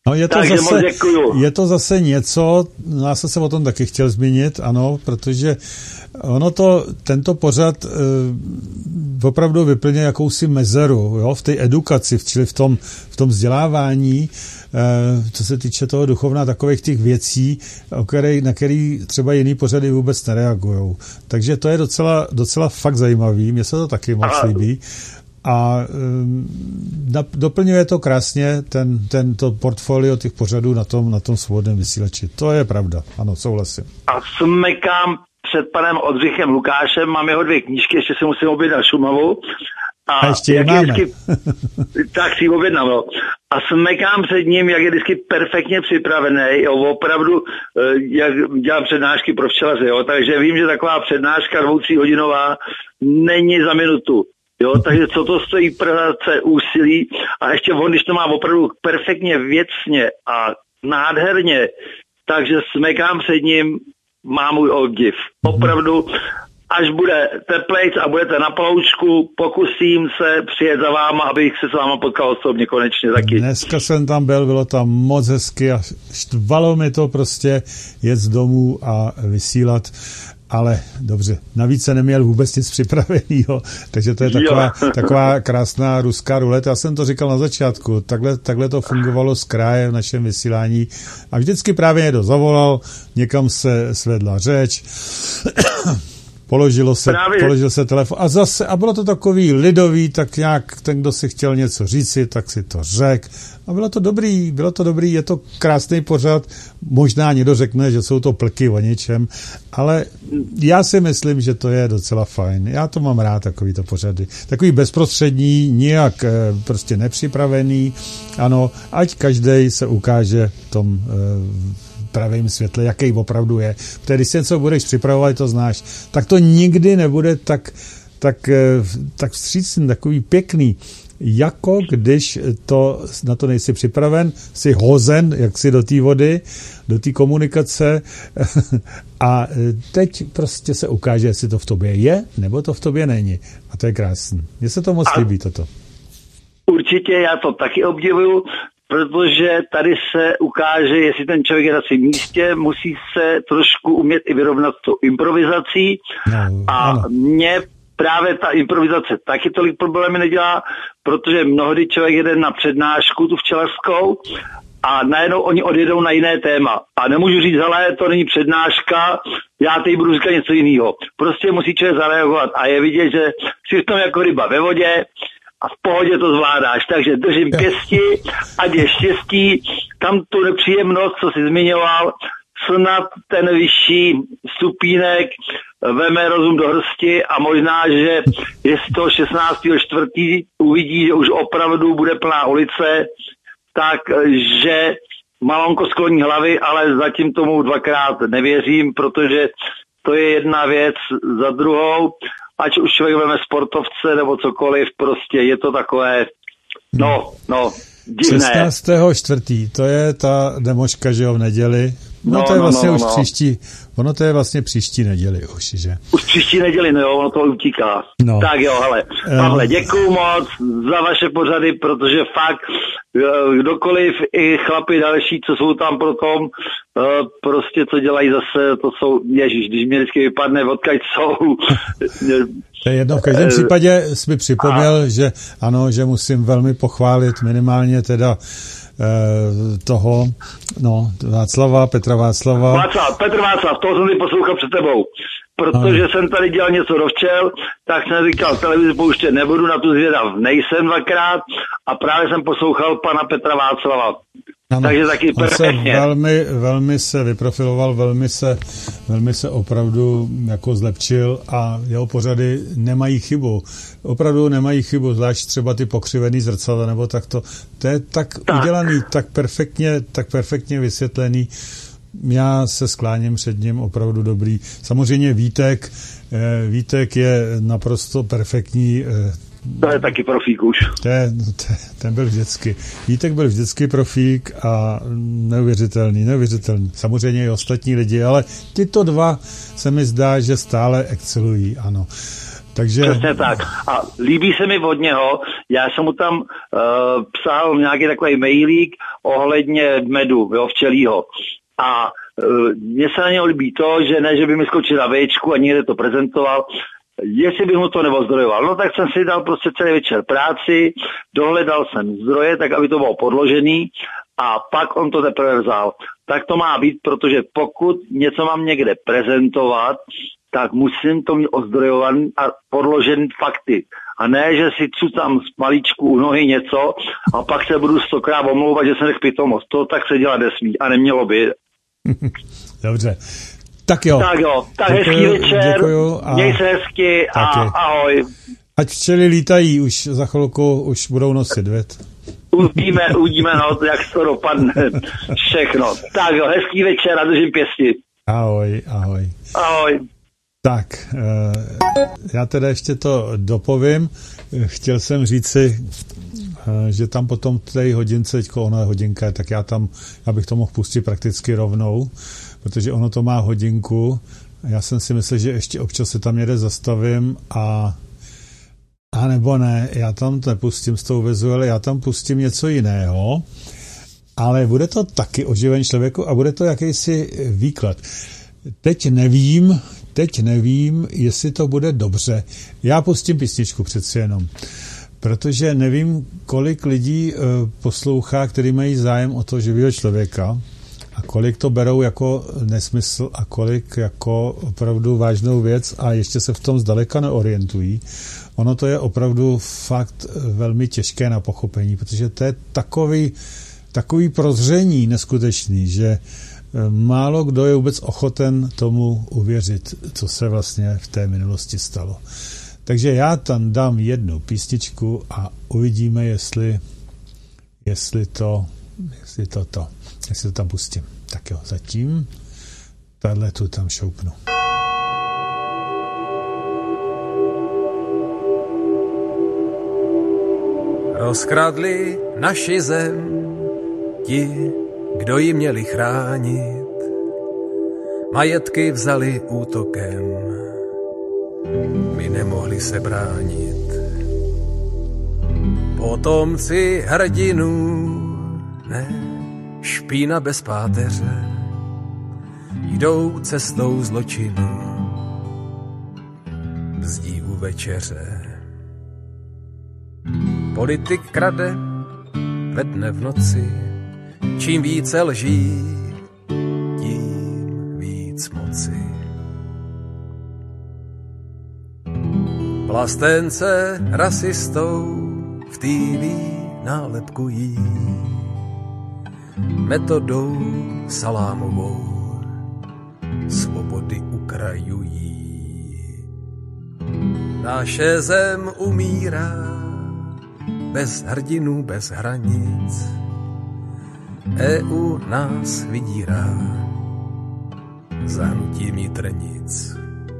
No je to, Takže zase, moc děkuju. je to zase něco, já jsem se o tom taky chtěl zmínit, ano, protože ono to, tento pořad e, opravdu vyplňuje jakousi mezeru, jo, v té edukaci, čili v tom, v tom vzdělávání, e, co se týče toho duchovna, takových těch věcí, o který, na který třeba jiný pořady vůbec nereagujou. Takže to je docela, docela fakt zajímavý, mně se to taky moc Aha. líbí. A um, doplňuje to krásně ten, tento portfolio těch pořadů na tom, na tom svobodném vysílači. To je pravda, ano, souhlasím. A smekám před panem Oldřichem Lukášem, mám jeho dvě knížky, ještě si musím objednat Šumavu. A, a ještě je máme. Vždycky, tak si ji objednám, no. A smekám před ním, jak je vždycky perfektně připravený, jo, opravdu, jak dělám přednášky pro včelaře, jo, takže vím, že taková přednáška dvou, tří hodinová není za minutu. Jo, takže co to stojí práce, úsilí a ještě on, když to má opravdu perfektně věcně a nádherně, takže smekám před ním, má můj obdiv. Opravdu, až bude teplejc a budete na ploučku, pokusím se přijet za váma, abych se s váma potkal osobně konečně taky. Dneska jsem tam byl, bylo tam moc hezky a štvalo mi to prostě jet z domů a vysílat. Ale dobře, navíc se neměl vůbec nic připravenýho, takže to je taková, taková krásná ruská ruleta. Já jsem to říkal na začátku, takhle, takhle to fungovalo z kraje v našem vysílání a vždycky právě někdo zavolal, někam se svedla řeč, položilo se, položil se telefon a zase, a bylo to takový lidový, tak nějak ten, kdo si chtěl něco říci, tak si to řekl. A bylo to dobrý, bylo to dobrý, je to krásný pořad, možná někdo řekne, že jsou to plky o něčem, ale já si myslím, že to je docela fajn. Já to mám rád, takovýto pořady. Takový bezprostřední, nijak prostě nepřipravený, ano, ať každej se ukáže v tom pravém světle, jaký opravdu je. Protože když si něco budeš připravovat, to znáš, tak to nikdy nebude tak, tak, tak vstřícný, takový pěkný, jako když to, na to nejsi připraven, jsi hozen, jak si do té vody, do té komunikace a teď prostě se ukáže, jestli to v tobě je, nebo to v tobě není. A to je krásný. Mně se to moc a líbí, toto. Určitě, já to taky obdivuju, protože tady se ukáže, jestli ten člověk je na svém místě, musí se trošku umět i vyrovnat s tou improvizací no, a ano. Mě právě ta improvizace taky tolik problémy nedělá, protože mnohdy člověk jede na přednášku, tu včelařskou, a najednou oni odjedou na jiné téma. A nemůžu říct, hele, to není přednáška, já teď budu říkat něco jiného. Prostě musí člověk zareagovat a je vidět, že jsi v tom jako ryba ve vodě a v pohodě to zvládáš. Takže držím pěsti, ať je štěstí, tam tu nepříjemnost, co jsi zmiňoval, snad ten vyšší stupínek veme rozum do hrsti a možná, že je z toho šestnáctého čtvrtého uvidí, že už opravdu bude plná ulice, takže malonko skloní hlavy, ale zatím tomu dvakrát nevěřím, protože to je jedna věc za druhou, ať už člověk veme sportovce nebo cokoliv, prostě je to takové, no, no, divné. šestnáctého čtvrtého to je ta demoška, že jo, v neděli. No, no to je vlastně no, no, už no. příští, ono to je vlastně příští neděli už, že? Už příští neděli, no jo, ono to utíká. No. Tak jo, hele, Pavle, děkuju moc za vaše pořady, protože fakt kdokoliv, i chlapi další, co jsou tam pro tom, prostě co dělají zase, to jsou, ježiš, když mě vždycky vypadne, odkud jsou. To je jedno, v každém případě jsi mi připomněl, a... že ano, že musím velmi pochválit minimálně teda toho, no, Václava, Petra Václava. Václav, Petr Václav, toho jsem si poslouchal před tebou. Protože ano. jsem tady dělal něco do včel, tak jsem říkal, televizi pouštět nebudu, na tu zvědav nejsem dvakrát a právě jsem poslouchal pana Petra Václava. Ano. Takže taky perfektně. Velmi, velmi se vyprofiloval, velmi se, velmi se opravdu jako zlepšil a jeho pořady nemají chybu. Opravdu nemají chybu, zvlášť třeba ty pokřivený zrcadla, nebo tak to. To je tak, tak udělaný, tak perfektně, tak perfektně vysvětlený. Já se skláním před ním, opravdu dobrý. Samozřejmě Vítek, Vítek je naprosto perfektní. To je taky profík už. Ten, ten byl vždycky. Vítek byl vždycky profík a neuvěřitelný, neuvěřitelný. Samozřejmě i ostatní lidi, ale tyto dva se mi zdá, že stále excelují, ano. Takže... Přesně tak. A líbí se mi od něho, já jsem mu tam uh, psal nějaký takový mailík ohledně medu, jo, včelího. A uh, mně se na něho líbí to, že ne, že by mi skočil na véčku a někde to prezentoval, jestli bych mu to neozdrojoval. No tak jsem si dal prostě celý večer práci, dohledal jsem zdroje, tak aby to bylo podložený a pak on to teprve vzal. Tak to má být, protože pokud něco mám někde prezentovat, tak musím to mít ozdrojovaný a podložený fakty. A ne, že si cucám z malíčku u nohy něco a pak se budu stokrát omlouvat, že jsem řekl pitomost. To tak se dělat nesmí a nemělo by. Dobře. Tak jo. Tak jo, tak děkuju, hezký večer, a... měj se hezky a ahoj. Ať včely lítají, už za chvilku už budou nosit, věd. Uvidíme, uvidíme, no, jak to dopadne všechno. Tak jo, hezký večer a držím pěsti. Ahoj, ahoj. Ahoj. Tak, já teda ještě to dopovím. Chtěl jsem říci, že tam potom v té hodince, teďko ona hodinka, tak já tam, já bych to mohl pustit prakticky rovnou, protože ono to má hodinku. Já jsem si myslel, že ještě občas se tam někde zastavím a a nebo ne, já tam nepustím s tou vezu, ale já tam pustím něco jiného, ale bude to taky oživen člověku a bude to jakýsi výklad. Teď nevím, teď nevím, jestli to bude dobře. Já pustím písničku přeci jenom, protože nevím, kolik lidí poslouchá, který mají zájem o to živého člověka a kolik to berou jako nesmysl a kolik jako opravdu vážnou věc a ještě se v tom zdaleka neorientují. Ono to je opravdu fakt velmi těžké na pochopení, protože to je takový, takový prozření neskutečný, že málo kdo je vůbec ochoten tomu uvěřit, co se vlastně v té minulosti stalo. Takže já tam dám jednu písničku a uvidíme, jestli, jestli to, jestli to, to, jestli to tam pustím. Tak jo, zatím tahle tu tam šoupnu. Rozkradli naši zem ti, kdo ji měli chránit. Majetky vzali útokem, my nemohli se bránit. Potomci hrdinů, ne, špína bez páteře, jdou cestou zločinu, bzdí u večeře. Politik krade ve dne v noci, čím více lží, tím víc moci. Vlastence rasistou v té vé nálepkují, metodou salámovou svobody ukrajují. Naše zem umírá bez hrdinů, bez hranic. E U nás vydírá zahnutím nitrnic.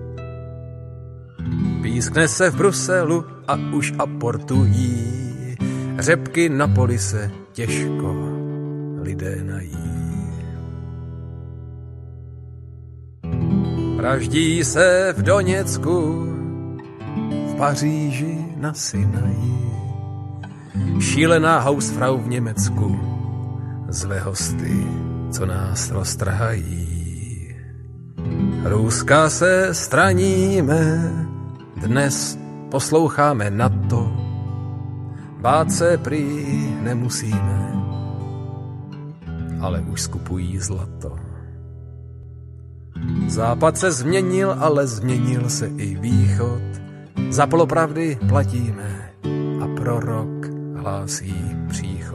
Pískne se v Bruselu a už aportují, řepky na poli se těžko lidé nají. Vraždí se v Doněcku, v Paříži na Sinaji, šílená Hausfrau v Německu, zlé hosty, co nás roztrhají. Ruska se straníme, dnes posloucháme na to, bát se prý nemusíme, ale už skupují zlato. Západ se změnil, ale změnil se i východ, za polopravdy platíme a prorok hlásí příchod.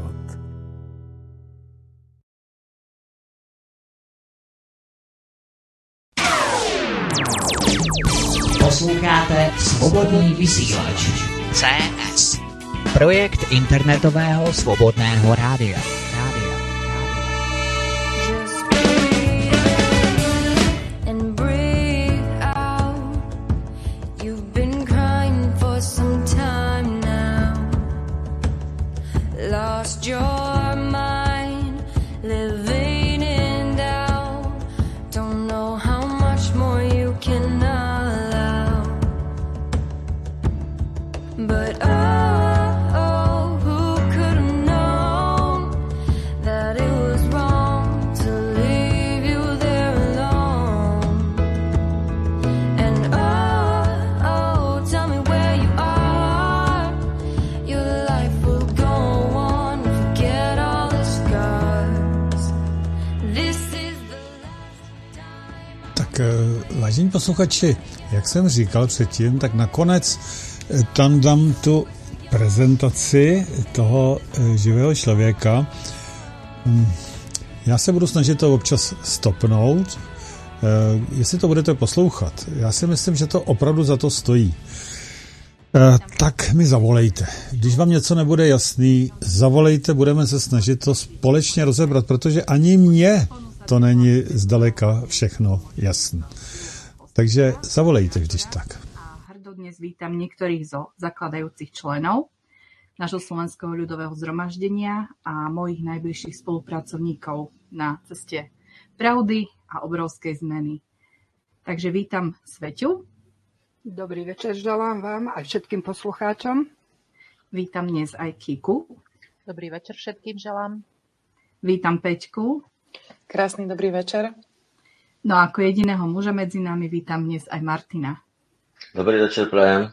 Posloucháte Svobodný vysílač C S, projekt internetového svobodného rádia. rádia. Your mind living in doubt, don't know how much more you can allow. Vážení posluchači, jak jsem říkal předtím, tak nakonec tam dám tu prezentaci toho živého člověka. Já se budu snažit to občas stopnout, jestli to budete poslouchat. Já si myslím, že to opravdu za to stojí. Tak mi zavolejte. Když vám něco nebude jasný, zavolejte, budeme se snažit to společně rozebrat, protože ani mně to není zdaleka všechno jasné. Takže zavolejte, když tak. Hrdo dnes vítam niektorých zo zakladajúcich členov nášho Slovenského ľudového zhromaždenia a mojich najbližších spolupracovníkov na ceste pravdy a obrovskej zmeny. Takže vítam Sveťu. Dobrý večer želám vám aj všetkým poslucháčom. Vítam dnes aj Kiku. Dobrý večer všetkým želám. Vítam Peťku. Krásny dobrý večer. No a ako jediného muža medzi nami vítam dnes aj Martina. Dobrý večer, prajem.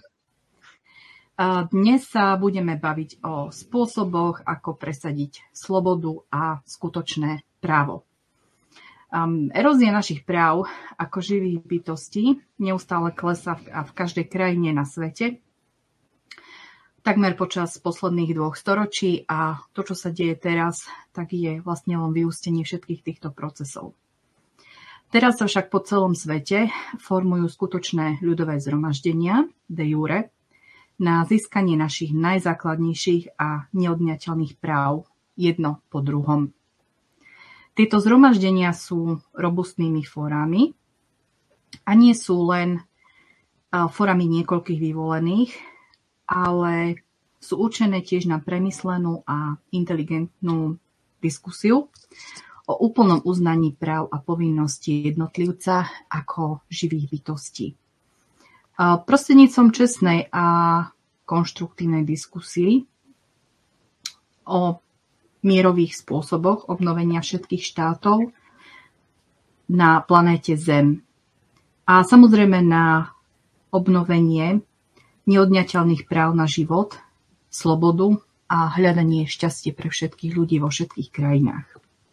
Dnes sa budeme baviť o spôsoboch, ako presadiť slobodu a skutočné právo. Um, erózia našich práv ako živých bytostí neustále klesá v, v každej krajine na svete. Takmer počas posledných dvoch storočí a to, čo sa deje teraz, tak je vlastne len vyústenie všetkých týchto procesov. Teraz sa však po celom svete formujú skutočné ľudové zhromaždenia, de jure, na získanie našich najzákladnejších a neodňateľných práv jedno po druhom. Tieto zhromaždenia sú robustnými fórami a nie sú len fórami niekoľkých vyvolených, ale sú určené tiež na premyslenú a inteligentnú diskusiu o úplnom uznaní práv a povinností jednotlivca ako živých bytostí. Prostredníctvom čestnej a konštruktívnej diskusii o mierových spôsoboch obnovenia všetkých štátov na planéte Zem a samozrejme na obnovenie neodňateľných práv na život, slobodu a hľadanie šťastie pre všetkých ľudí vo všetkých krajinách.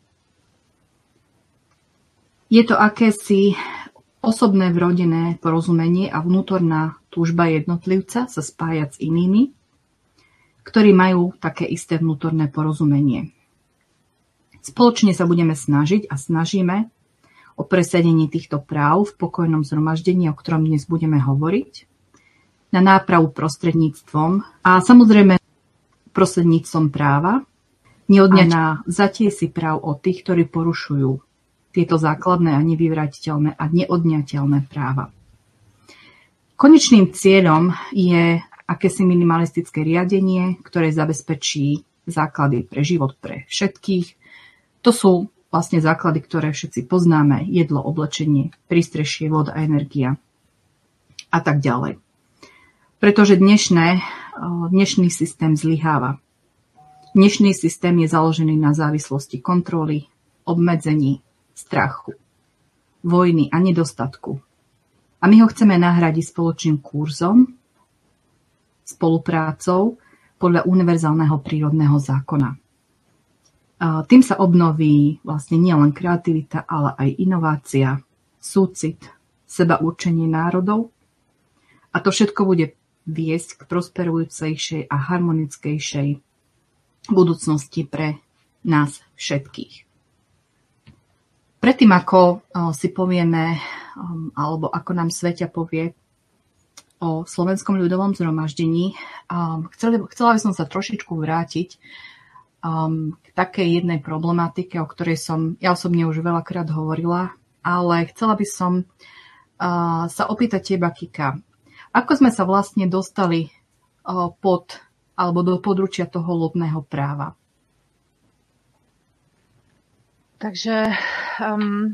Je to akési osobné vrodené porozumenie a vnútorná túžba jednotlivca sa spájať s inými, ktorí majú také isté vnútorné porozumenie. Spoločne sa budeme snažiť a snažíme o presadenie týchto práv v pokojnom zhromaždení, o ktorom dnes budeme hovoriť, na nápravu prostredníctvom a samozrejme prostredníctvom práva, neodňať na vzatie si práv od tých, ktorí porušujú tieto základné a nevyvratiteľné a neodňateľné práva. Konečným cieľom je akési minimalistické riadenie, ktoré zabezpečí základy pre život pre všetkých. To sú vlastne základy, ktoré všetci poznáme. Jedlo, oblečenie, prístrešie, voda, energia a tak ďalej. Pretože dnešné, dnešný systém zlyháva. Dnešný systém je založený na závislosti kontroly, obmedzení, strachu, vojny a nedostatku. A my ho chceme nahradiť spoločným kurzom, spoluprácou podľa univerzálneho prírodného zákona. Tým sa obnoví vlastne nielen kreativita, ale aj inovácia, súcit, sebaurčenie národov. A to všetko bude viesť k prosperujúcejšej a harmonickejšej budúcnosti pre nás všetkých. Predtým, ako si povieme, alebo ako nám Sveťa povie o Slovenskom ľudovom zhromaždení, chcela by som sa trošičku vrátiť k takej jednej problematike, o ktorej som ja osobne už veľakrát hovorila, ale chcela by som sa opýtať teba, Kika, ako sme sa vlastne dostali pod alebo do područia toho lodného práva? Takže um,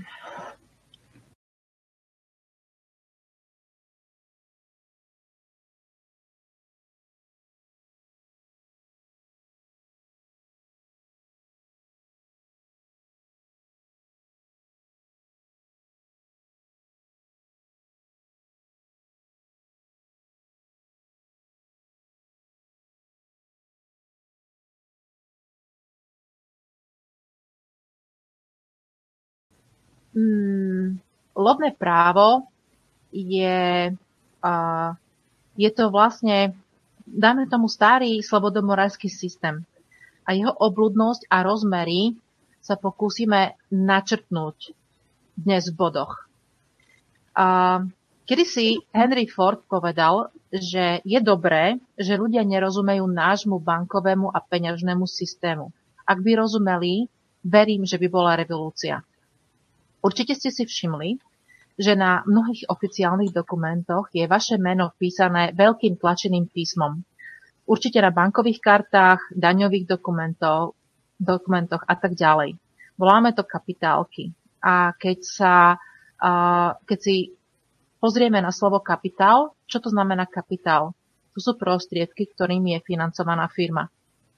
Hmm, lodné právo je, uh, je to vlastne, dáme tomu starý slobodomorský systém. A jeho obľudnosť a rozmery sa pokúsime načrtnúť dnes v bodoch. Uh, kedysi Henry Ford povedal, že je dobré, že ľudia nerozumejú nášmu bankovému a peňažnému systému. Ak by rozumeli, verím, že by bola revolúcia. Určite ste si všimli, že na mnohých oficiálnych dokumentoch je vaše meno vpísané veľkým tlačeným písmom. Určite na bankových kartách, daňových dokumentov, dokumentoch a tak ďalej. Voláme to kapitálky. A keď sa, uh, keď si pozrieme na slovo kapitál, čo to znamená kapitál? To sú prostriedky, ktorými je financovaná firma.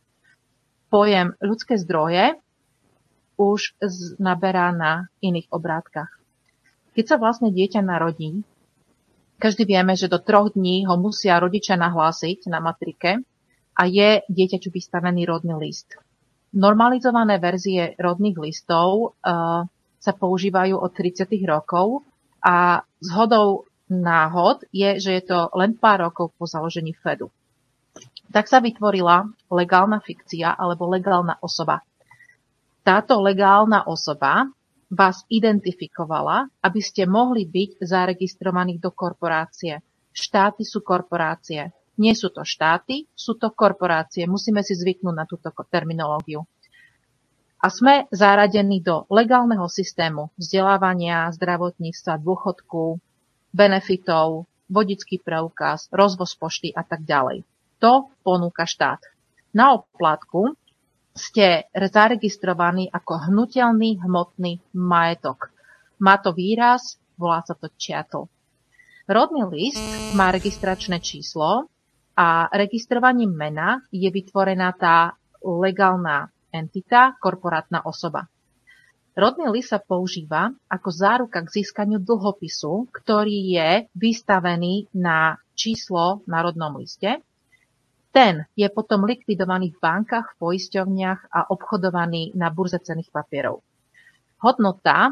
Pojem ľudské zdroje už naberá na iných obrátkach. Keď sa vlastne dieťa narodí, každý vieme, že do troch dní ho musia rodičia nahlásiť na matrike a je dieťaťu vystavený rodný list. Normalizované verzie rodných listov uh, sa používajú od tridsiatych rokov a zhodou náhod je, že je to len pár rokov po založení Fedu. Tak sa vytvorila legálna fikcia alebo legálna osoba. Táto legálna osoba vás identifikovala, aby ste mohli byť zaregistrovaní do korporácie. Štáty sú korporácie. Nie sú to štáty, sú to korporácie. Musíme si zvyknúť na túto terminológiu. A sme zaradení do legálneho systému vzdelávania, zdravotníctva, dôchodku, benefitov, vodický preukaz, rozvoz pošty a tak ďalej. To ponúka štát. Na oplátku ste zaregistrovaní ako hnutelný hmotný majetok. Má to výraz, volá sa to chattel. Rodný list má registračné číslo a registrovaním mena je vytvorená tá legálna entita, korporátna osoba. Rodný list sa používa ako záruka k získaniu dlhopisu, ktorý je vystavený na číslo na rodnom liste. Ten je potom likvidovaný v bankách, v poisťovniach a obchodovaný na burze cenných papierov. Hodnota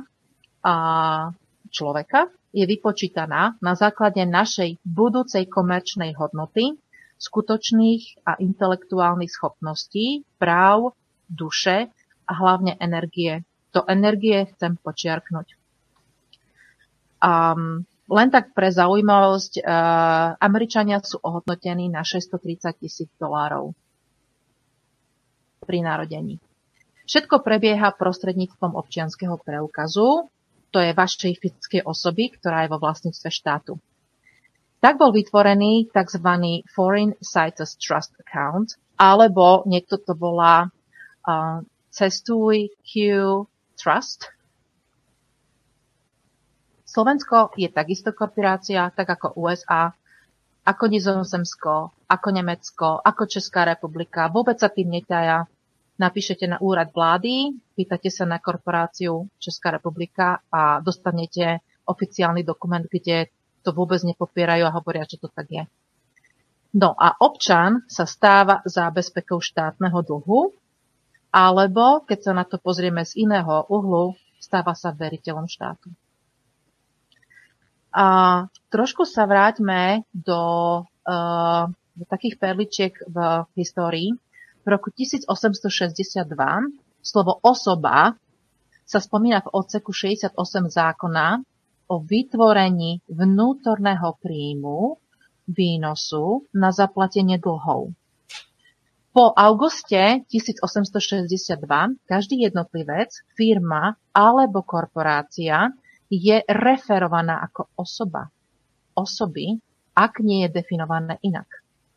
človeka je vypočítaná na základe našej budúcej komerčnej hodnoty, skutočných a intelektuálnych schopností, práv, duše a hlavne energie. To energie chcem počiarknúť. Um, Len tak pre zaujímavosť, uh, Američania sú ohodnotení na šesťstotridsať tisíc dolárov pri narodení. Všetko prebieha prostredníctvom občianskeho preukazu, to je vašej fyzickej osoby, ktorá je vo vlastníctve štátu. Tak bol vytvorený tzv. Foreign Sites Trust Account, alebo niekto to volá uh, Cestuj Q Trust. Slovensko je takisto korporácia, tak ako U S A, ako Nizozemsko, ako Nemecko, ako Česká republika. Vôbec sa tým netajá. Napíšete na úrad vlády, pýtate sa na korporáciu Česká republika a dostanete oficiálny dokument, kde to vôbec nepopierajú a hovoria, že to tak je. No a občan sa stáva zábezpekou štátneho dlhu, alebo, keď sa na to pozrieme z iného uhlu, stáva sa veriteľom štátu. A trošku sa vráťme do, uh, do takých perličiek v histórii. V roku tisícosemstošesťdesiatdva slovo osoba sa spomína v odseku šesťdesiatosem zákona o vytvorení vnútorného príjmu výnosu na zaplatenie dlhov. Po auguste tisícosemstošesťdesiatdva každý jednotlivec, firma alebo korporácia je referovaná ako osoba. Osoby, ak nie je definované inak.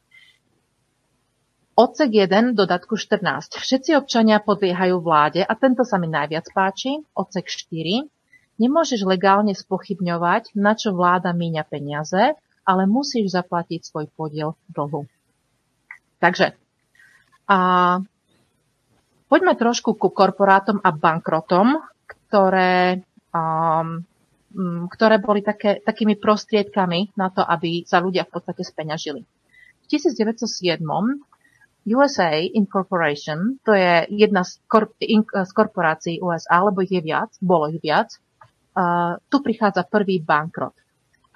Odsek jeden, dodatku štrnásť. Všetci občania podliehajú vláde a tento sa mi najviac páči. Odsek štyri. Nemôžeš legálne spochybňovať, na čo vláda míňa peniaze, ale musíš zaplatiť svoj podiel dlhu. Takže a poďme trošku ku korporátom a bankrotom, ktoré Um, ktoré boli také, takými prostriedkami na to, aby sa ľudia v podstate speňažili. V tisícdeväťstosedem U S A Incorporation, to je jedna z, korp- in- z korporácií U S A, alebo ich je viac, bolo ich viac, uh, tu prichádza prvý bankrot. A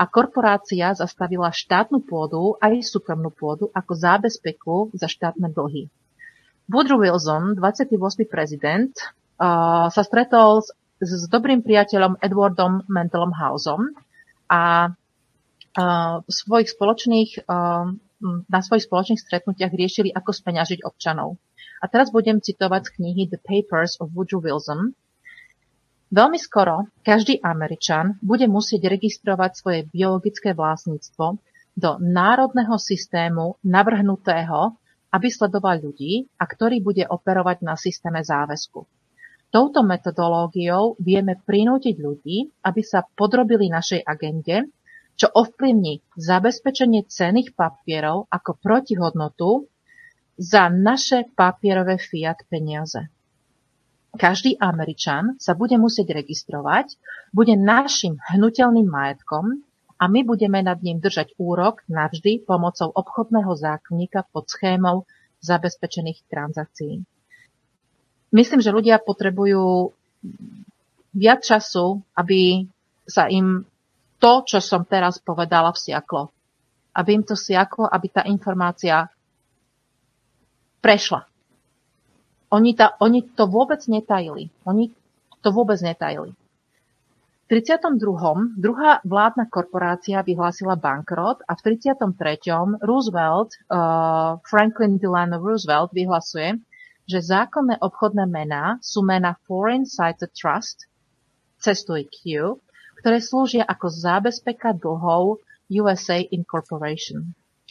a korporácia zastavila štátnu pôdu aj súkromnú pôdu ako zábezpeku za štátne dlhy. Woodrow Wilson, dvadsiaty ôsmy prezident, uh, sa stretol s, s dobrým priateľom Edwardom Mendelom Houseom a uh, v svojich spoločných, uh, na svojich spoločných stretnutiach riešili, ako speňažiť občanov. A teraz budem citovať z knihy The Papers of Woodrow Wilson. Veľmi skoro každý Američan bude musieť registrovať svoje biologické vlastníctvo do národného systému navrhnutého, aby sledoval ľudí a ktorý bude operovať na systéme záväzku. Touto metodológiou vieme prinútiť ľudí, aby sa podrobili našej agende, čo ovplyvní zabezpečenie cenných papierov ako protihodnotu za naše papierové fiat peniaze. Každý Američan sa bude musieť registrovať, bude našim hnutelným majetkom a my budeme nad ním držať úrok navždy pomocou obchodného zákonníka pod schémou zabezpečených transakcií. Myslím, že ľudia potrebujú viac času, aby sa im to, čo som teraz povedala, vsiaklo. Aby im to siaklo, aby tá informácia prešla. Oni, ta, oni to vôbec netajili. Oni to vôbec netajili. V tridsiatom druhom druhá vládna korporácia vyhlásila bankrot a v tridsiatom treťom Roosevelt, uh, Franklin Delano Roosevelt vyhlasuje, že zákonné obchodné mená sú mená Foreign Sighted Trust, cestuj Q, ktoré slúžia ako zábezpeka dlhov U S A Incorporation.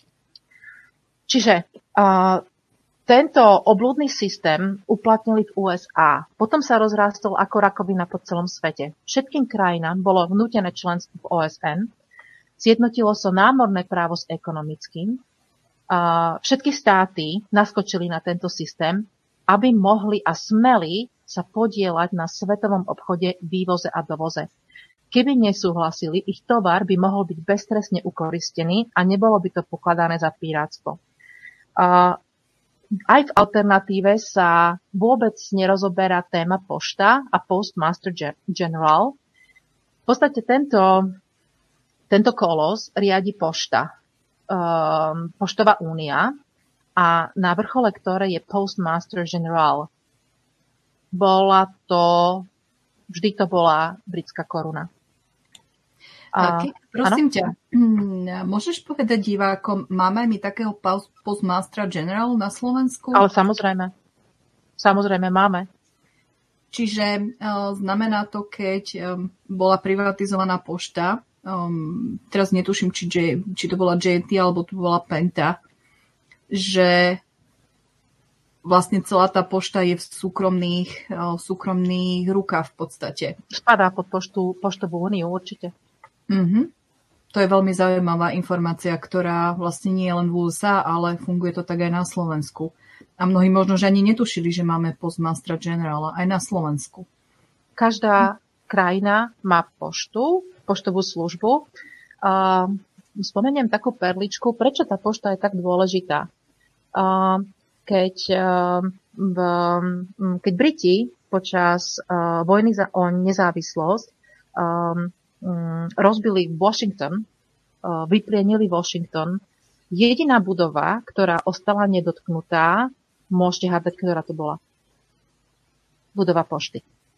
Čiže uh, tento oblúdny systém uplatnili v U S A. Potom sa rozrástol ako rakovina po celom svete. Všetkým krajinám bolo vnútené členstvo v O S N. Zjednotilo sa námorné právo s ekonomickým. Uh, všetky státy naskočili na tento systém, aby mohli a smeli sa podieľať na svetovom obchode, vývoze a dovoze. Keby nesúhlasili, ich tovar by mohol byť beztrestne ukoristený a nebolo by to pokladané za pirátstvo. Uh, Aj v alternatíve sa vôbec nerozoberá téma pošta a Postmaster General. V podstate tento, tento kolos riadi pošta, um, Poštová únia a na vrchole ktoré je Postmaster General. Bola to, vždy to bola britská koruna. A, Ke, prosím ano? ťa, môžeš povedať divákom, máme aj my takého Postmastera General na Slovensku? Ale samozrejme. Samozrejme máme. Čiže uh, znamená to, keď um, bola privatizovaná pošta, um, teraz netuším, či, J, či to bola J and T alebo to bola Penta, že vlastne celá tá pošta je v súkromných, uh, súkromných rukách v podstate. Spadá pod poštu, poštovú úniu určite. Mm-hmm. To je veľmi zaujímavá informácia, ktorá vlastne nie je len v U S A, ale funguje to tak aj na Slovensku. A mnohí možno, že ani netušili, že máme Postmastera Generala aj na Slovensku. Každá krajina má poštu, poštovú službu. Uh, spomeniem takú perličku, prečo tá pošta je tak dôležitá. Uh, keď, uh, v, keď Briti počas uh, vojny za, o nezávislosť um, rozbili Washington, vyplienili Washington. Jediná budova, ktorá ostala nedotknutá, môžete hádať, ktorá to bola. Budova pošty.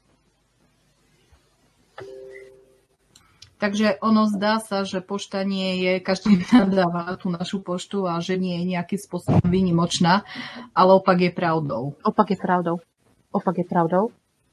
Takže ono zdá sa, že pošta nie je, každý nadáva tú našu poštu a že nie je nejakým spôsobom výnimočná, ale opak je pravdou. Opak je pravdou. Opak je pravdou.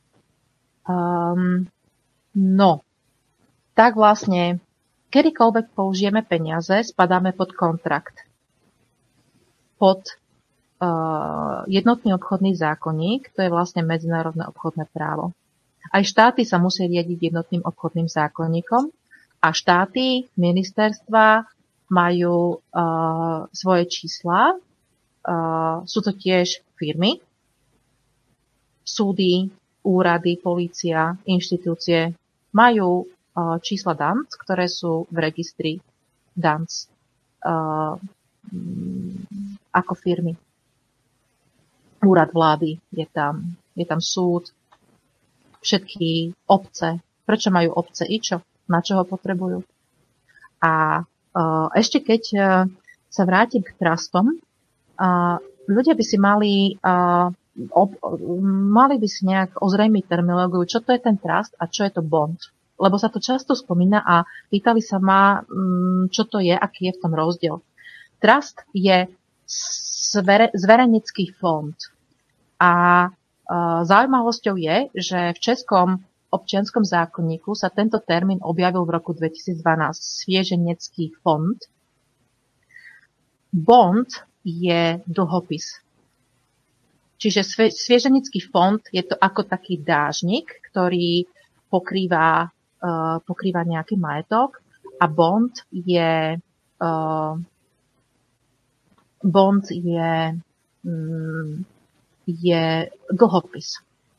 Um, no, tak vlastne, kedykoľvek použijeme peniaze, spadáme pod kontrakt. Pod uh, jednotný obchodný zákonník, to je vlastne medzinárodné obchodné právo. Aj štáty sa musia riadiť jednotným obchodným zákonníkom a štáty, ministerstva majú uh, svoje čísla. Uh, sú to tiež firmy, súdy, úrady, polícia, inštitúcie majú čísla D A N C, ktoré sú v registri D A N C uh, ako firmy. Úrad vlády je tam, je tam súd, všetky obce. Prečo majú obce i čo? Na čo ho potrebujú? A ešte keď sa vrátim k trustom, ľudia by si mali, ob, mali by si nejak ozrejmiť terminológiu, čo to je ten trust a čo je to bond. Lebo sa to často spomína a pýtali sa ma, čo to je, aký je v tom rozdiel. Trust je zvere, zverejnecký fond. A zaujímavosťou je, že v českom občianskom zákonníku sa tento termín objavil v roku dvetisícdvanásť. Svieženecký fond. Bond je dlhopis. Čiže svieženecký fond je to ako taký dážnik, ktorý pokrýva, uh, pokrýva nejaký majetok a bond je uh, bond je, um, je dlhopis.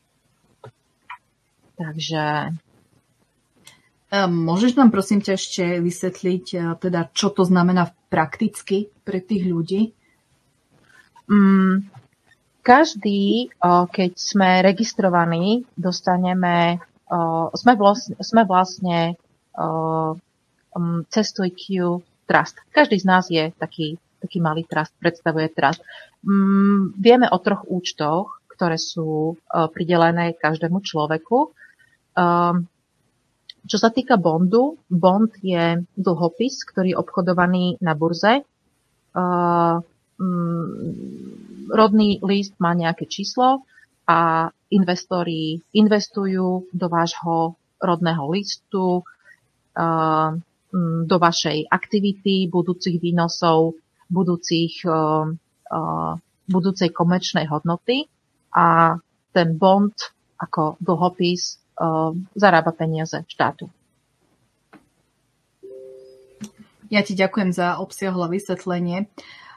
Takže môžeš nám prosím ťa ešte vysvetliť, teda, čo to znamená prakticky pre tých ľudí? Mm, každý, keď sme registrovaní, dostaneme, sme vlastne, sme vlastne cez tvoj Q trust. Každý z nás je taký, taký malý trust, predstavuje trust. Mm, vieme o troch účtoch, ktoré sú pridelené každému človeku. Um, čo sa týka bondu, bond je dlhopis, ktorý je obchodovaný na burze. Uh, um, rodný list má nejaké číslo a investori investujú do vášho rodného listu, uh, do vašej aktivity, budúcich výnosov, budúcich, uh, uh, budúcej komerčnej hodnoty a ten bond ako dlhopis zarába peniaze štátu. Ja ti ďakujem za obsiahle vysvetlenie.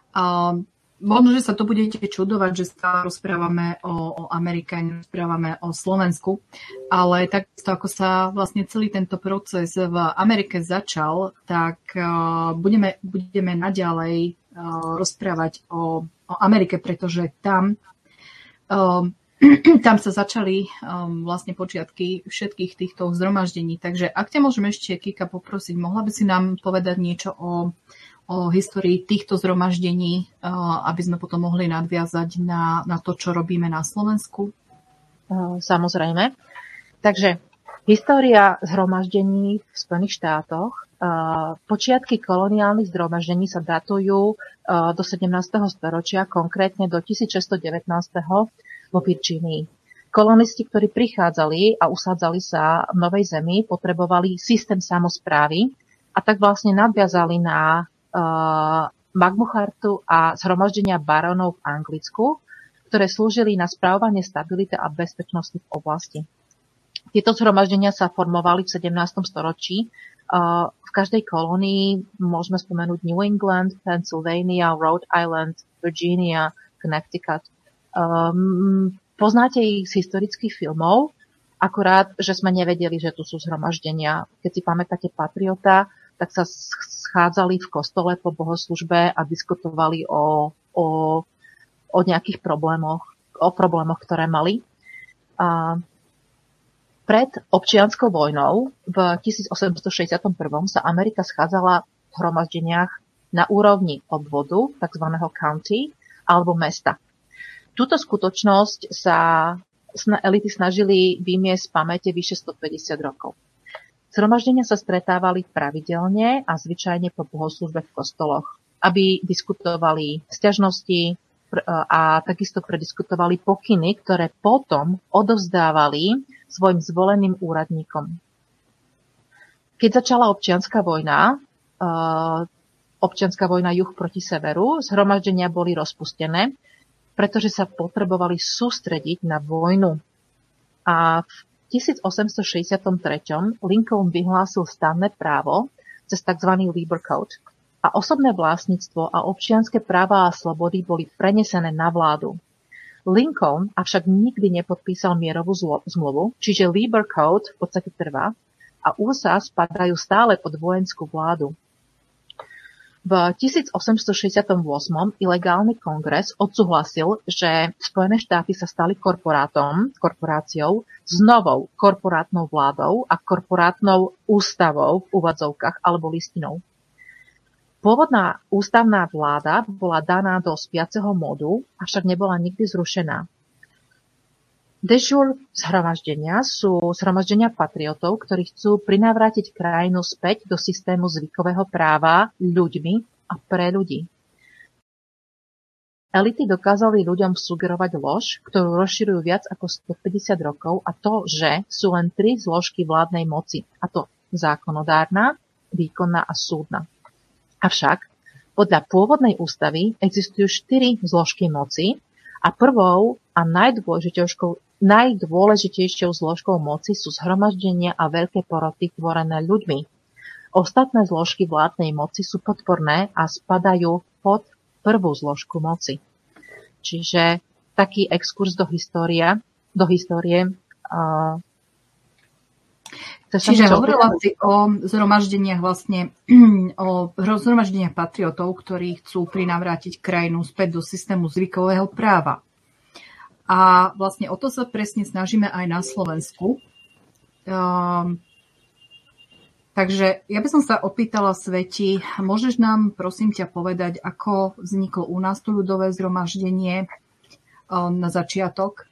A možno, že sa to budete čudovať, že sa rozprávame o, o Amerike, rozprávame o Slovensku, ale takisto ako sa vlastne celý tento proces v Amerike začal, tak uh, budeme, budeme naďalej uh, rozprávať o, o Amerike, pretože tam uh, tam sa začali um, vlastne počiatky všetkých týchto zhromaždení. Takže ak ťa môžem ešte, Kika, poprosiť, mohla by si nám povedať niečo o, o histórii týchto zhromaždení, uh, aby sme potom mohli nadviazať na, na to, čo robíme na Slovensku? Uh, samozrejme. Takže história zhromaždení v Spojených štátoch. Uh, počiatky koloniálnych zhromaždení sa datujú uh, do sedemnásteho storočia, konkrétne do tisícšesťstodevätnásť vo Virginii. Kolonisti, ktorí prichádzali a usádzali sa v Novej Zemi, potrebovali systém samosprávy a tak vlastne nadviazali na uh, Magnu chartu a zhromaždenia barónov v Anglicku, ktoré slúžili na spravovanie stability a bezpečnosti v oblasti. Tieto zhromaždenia sa formovali v sedemnástom storočí. Uh, v každej kolónii môžeme spomenúť New England, Pennsylvania, Rhode Island, Virginia, Connecticut. Um, poznáte ich z historických filmov, akurát, že sme nevedeli, že tu sú zhromaždenia. Keď si pamätáte Patriota, tak sa schádzali v kostole po bohoslužbe a diskutovali o, o, o nejakých problémoch, o problémoch, ktoré mali. A pred občianskou vojnou v tisícosemstošesťdesiatjeden sa Amerika schádzala v zhromaždeniach na úrovni obvodu, takzvaného county, alebo mesta. Túto skutočnosť sa elity snažili vymiesť z pamäte vyše stopäťdesiat rokov. Zhromaždenia sa stretávali pravidelne a zvyčajne po bohoslužbe v kostoloch, aby diskutovali sťažnosti a takisto prediskutovali pokyny, ktoré potom odovzdávali svojim zvoleným úradníkom. Keď začala občianska vojna, občianska vojna juh proti severu, zhromaždenia boli rozpustené, pretože sa potrebovali sústrediť na vojnu. A v tisícosemstošesťdesiattri Lincoln vyhlásil stanné právo cez tzv. Labor Code a osobné vlastníctvo a občianske práva a slobody boli prenesené na vládu. Lincoln avšak nikdy nepodpísal mierovú zmluvu, čiže Labor Code v podstate trvá a ú es á spadajú stále pod vojenskú vládu. V tisícosemstošesťdesiatosem ilegálny kongres odsúhlasil, že Spojené štáty sa stali korporátom, korporáciou s novou korporátnou vládou a korporátnou ústavou v úvadzovkách alebo listinou. Pôvodná ústavná vláda bola daná do spiaceho modu, avšak nebola nikdy zrušená. De jure zhromaždenia sú zhromaždenia patriotov, ktorí chcú prinavrátiť krajinu späť do systému zvykového práva ľuďmi a pre ľudí. Elity dokázali ľuďom sugerovať lož, ktorú rozširujú viac ako stopäťdesiat rokov, a to, že sú len tri zložky vládnej moci, a to zákonodárna, výkonná a súdna. Avšak podľa pôvodnej ústavy existujú štyri zložky moci a prvou a najdôležitejšou, najdôležitejšou zložkou moci sú zhromaždenia a veľké poroty tvorené ľuďmi. Ostatné zložky vládnej moci sú podporné a spadajú pod prvú zložku moci. Čiže taký exkurs do história, do histórie. Uh, Čiže hovorila si o zhromaždeniach vlastne, o zhromaždeniach patriotov, ktorí chcú prinavrátiť krajinu späť do systému zvykového práva. A vlastne o to sa presne snažíme aj na Slovensku. Um, takže ja by som sa opýtala, Sveti, môžeš nám prosím ťa povedať, ako vzniklo u nás to ľudové zhromaždenie um, na začiatok?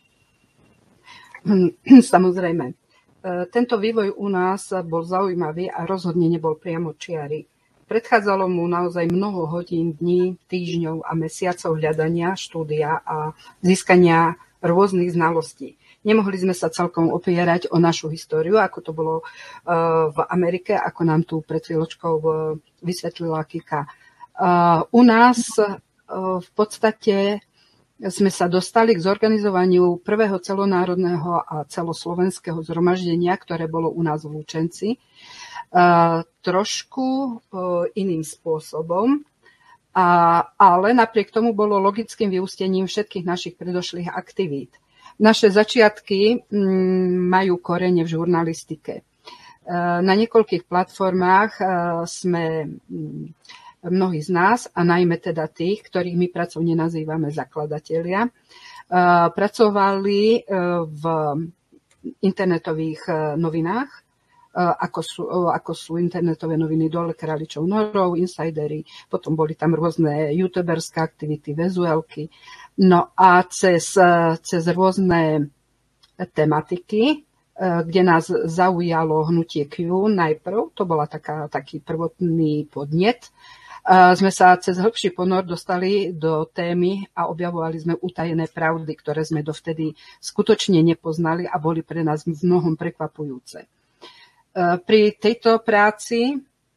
Samozrejme. Tento vývoj u nás bol zaujímavý a rozhodne nebol priamočiary. Predchádzalo mu naozaj mnoho hodín, dní, týždňov a mesiacov hľadania, štúdia a získania rôznych znalostí. Nemohli sme sa celkom opierať o našu históriu, ako to bolo v Amerike, ako nám tu pred chvíľočkou vysvetlila Kika. U nás v podstate sme sa dostali k zorganizovaniu prvého celonárodného a celoslovenského zhromaždenia, ktoré bolo u nás v Lučenci, trošku iným spôsobom, ale napriek tomu bolo logickým vyústením všetkých našich predošlých aktivít. Naše začiatky majú korene v žurnalistike. Na niekoľkých platformách sme mnohí z nás, a najmä teda tých, ktorých my pracovne nazývame zakladatelia, pracovali v internetových novinách, ako sú, ako sú internetové noviny Dole králičou norov, Insidery, potom boli tam rôzne youtuberské aktivity, vizuálky. No a cez, cez rôzne tematiky, kde nás zaujalo hnutie Q najprv, to bola taká, taký prvotný podnet, sme sa cez hĺbší ponor dostali do témy a objavovali sme utajené pravdy, ktoré sme dovtedy skutočne nepoznali a boli pre nás v mnohom prekvapujúce. Pri tejto práci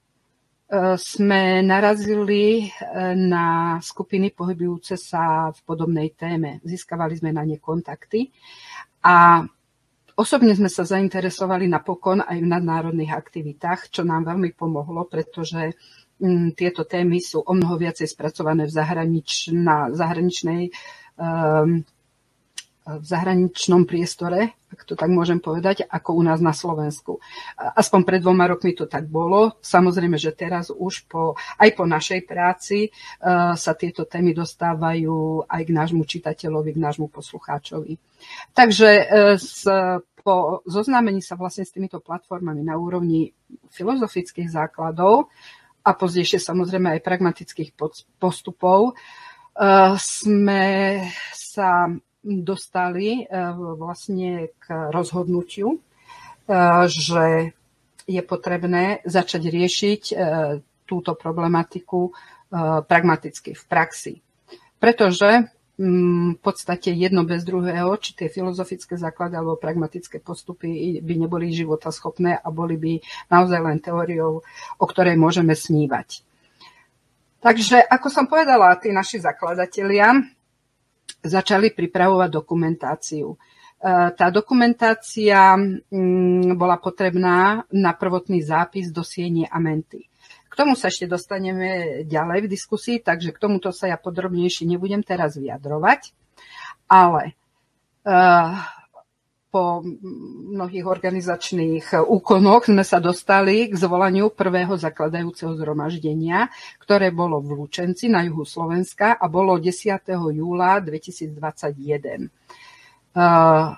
sme narazili na skupiny pohybujúce sa v podobnej téme. Získavali sme na ne kontakty a osobne sme sa zainteresovali napokon aj v nadnárodných aktivitách, čo nám veľmi pomohlo, pretože tieto témy sú o mnoho viacej spracované v, zahranič, na zahraničnej, um, v zahraničnom priestore, ak to tak môžem povedať, ako u nás na Slovensku. Aspoň pred dvoma rokmi to tak bolo. Samozrejme, že teraz už po, aj po našej práci uh, sa tieto témy dostávajú aj k nášmu čitateľovi, k nášmu poslucháčovi. Takže uh, s, po zoznámení sa vlastne s týmito platformami na úrovni filozofických základov a pozdejšie samozrejme aj pragmatických postupov, sme sa dostali vlastne k rozhodnutiu, že je potrebné začať riešiť túto problematiku pragmaticky v praxi. Pretože v podstate jedno bez druhého, či tie filozofické základy alebo pragmatické postupy by neboli životaschopné a boli by naozaj len teóriou, o ktorej môžeme snívať. Takže, ako som povedala, tí naši zakladatelia začali pripravovať dokumentáciu. Tá dokumentácia bola potrebná na prvotný zápis do siene Amenty. K tomu sa ešte dostaneme ďalej v diskusii, takže k tomuto sa ja podrobnejšie nebudem teraz vyjadrovať, ale uh, po mnohých organizačných úkonoch sme sa dostali k zvolaniu prvého zakladajúceho zhromaždenia, ktoré bolo v Lučenci na juhu Slovenska a bolo desiateho júla dvetisícdvadsaťjeden. Uh,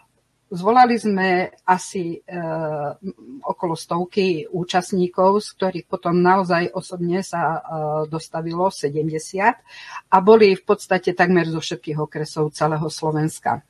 Zvolali sme asi e, okolo stovky účastníkov, z ktorých potom naozaj osobne sa e, dostavilo sedemdesiat a boli v podstate takmer zo všetkých okresov celého Slovenska. E,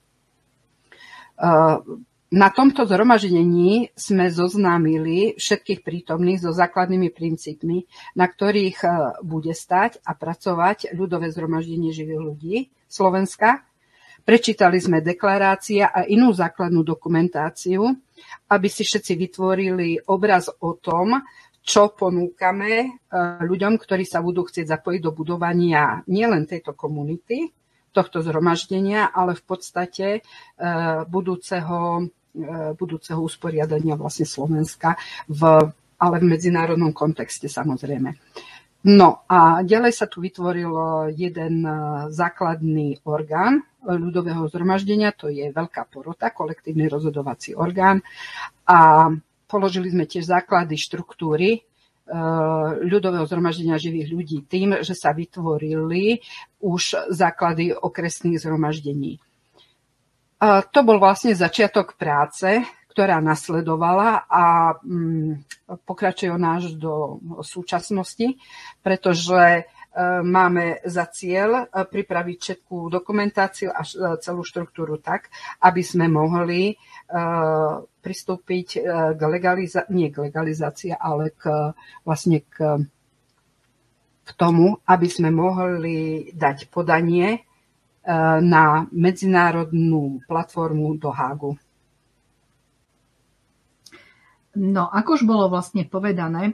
na tomto zhromaždení sme zoznámili všetkých prítomných so základnými princípmi, na ktorých e, bude stať a pracovať ľudové zhromaždenie živých ľudí Slovenska. Prečítali sme deklarácie a inú základnú dokumentáciu, aby si všetci vytvorili obraz o tom, čo ponúkame ľuďom, ktorí sa budú chcieť zapojiť do budovania nielen tejto komunity, tohto zhromaždenia, ale v podstate budúceho, budúceho usporiadania vlastne Slovenska, v, ale v medzinárodnom kontexte samozrejme. No a ďalej sa tu vytvoril jeden základný orgán ľudového zhromaždenia, to je veľká porota, kolektívny rozhodovací orgán a položili sme tiež základy štruktúry ľudového zhromaždenia živých ľudí tým, že sa vytvorili už základy okresných zhromaždení. A to bol vlastne začiatok práce, ktorá nasledovala a pokračuje ona až do súčasnosti, pretože máme za cieľ pripraviť všetkú dokumentáciu a celú štruktúru tak, aby sme mohli pristúpiť k legalizácii, nie k legalizácii, ale k, vlastne k, k tomu, aby sme mohli dať podanie na medzinárodnú platformu do Hágu. No, ako už bolo vlastne povedané,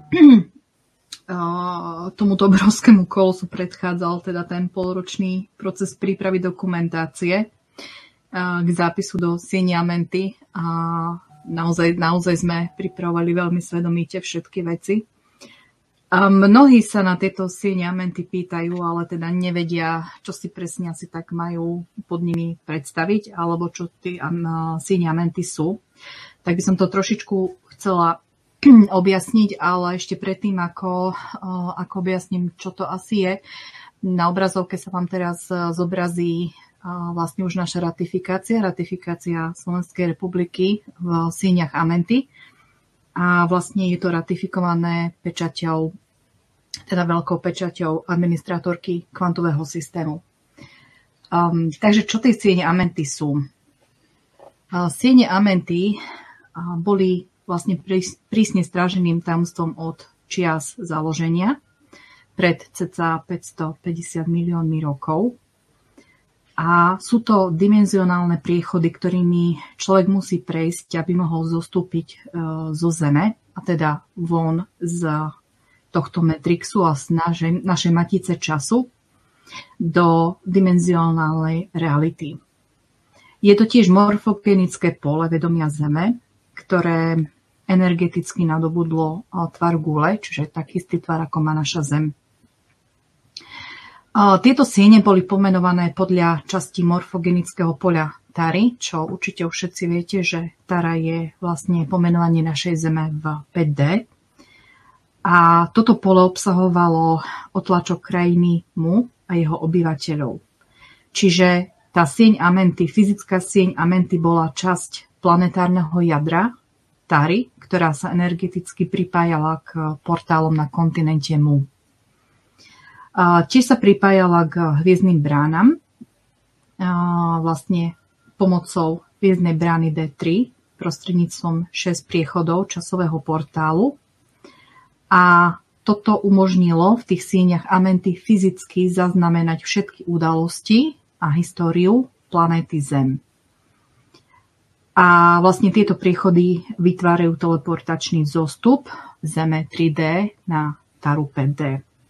tomuto obrovskému kolosu predchádzal teda ten polročný proces prípravy dokumentácie k zápisu do sieni Amenty a naozaj, naozaj sme pripravovali veľmi svedomite všetky veci. A mnohí sa na tieto siene Amenty pýtajú, ale teda nevedia, čo si presne asi tak majú pod nimi predstaviť, alebo čo tie siene Amenty sú. Tak by som to trošičku chcela objasniť, ale ešte predtým, ako, ako objasním, čo to asi je, na obrazovke sa vám teraz zobrazí vlastne už naša ratifikácia, ratifikácia Slovenskej republiky v sieňach Amenty a vlastne je to ratifikované pečaťou, teda veľkou pečaťou administrátorky kvantového systému. Um, takže čo tie siene Amenty sú? Uh, siene Amenty boli vlastne prísne stráženým tajomstvom od čias založenia pred cca päťstopäťdesiat miliónmi rokov. A sú to dimenzionálne priechody, ktorými človek musí prejsť, aby mohol zostúpiť zo Zeme, a teda von z tohto Matrixu a z našej, našej matice času do dimenzionálnej reality. Je to tiež morfogenické pole vedomia Zeme, ktoré energeticky nadobudlo tvar gule, čiže taký istý tvar, ako má naša Zem. Tieto siene boli pomenované podľa časti morfogenického poľa Tary, čo určite už všetci viete, že Tara je vlastne pomenovanie našej Zeme v päť dé. A toto pole obsahovalo otlačok krajiny Mu a jeho obyvateľov. Čiže tá sieň Amenty, fyzická sieň Amenty bola časť planetárneho jadra Tary, ktorá sa energeticky pripájala k portálom na kontinente Mu. Tiež sa pripájala k hviezdnym bránam, vlastne pomocou hviezdnej brány dé tri prostredníctvom šesť priechodov časového portálu. A toto umožnilo v tých sieňach Amenty fyzicky zaznamenať všetky udalosti a históriu planéty Zem. A vlastne tieto priechody vytvárajú teleportačný vzostup Zeme tri dé na Taru päť dé.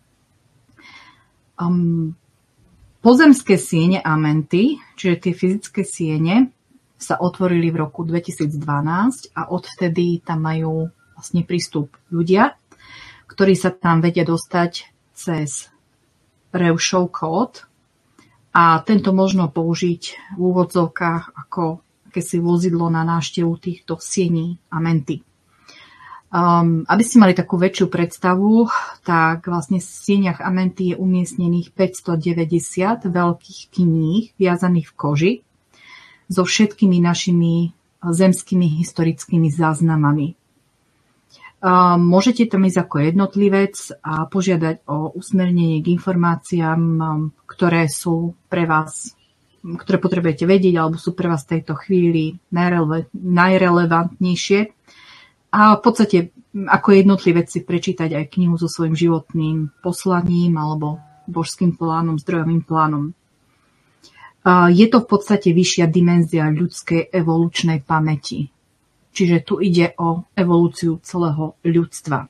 Um, pozemské siene Amenty, čiže tie fyzické siene, sa otvorili v roku dvetisícdvanásť a odvtedy tam majú vlastne prístup ľudia, ktorí sa tam vedia dostať cez Reušov kód a tento možno použiť v úvodzovkách ako akési vozidlo na návštevu týchto siení Amenty. Um, aby ste mali takú väčšiu predstavu, tak vlastne v sieniach Amenty je umiestnených päťstodeväťdesiat veľkých kníh viazaných v koži, so všetkými našimi zemskými historickými záznamami. Môžete tam ísť ako jednotlivec a požiadať o usmernenie k informáciám, ktoré sú pre vás, ktoré potrebujete vedieť alebo sú pre vás v tejto chvíli najrele- najrelevantnejšie. A v podstate ako jednotlivec si prečítať aj knihu so svojím životným poslaním alebo božským plánom, zdrojovým plánom. Je to v podstate vyššia dimenzia ľudskej evolučnej pamäti. Čiže tu ide o evolúciu celého ľudstva.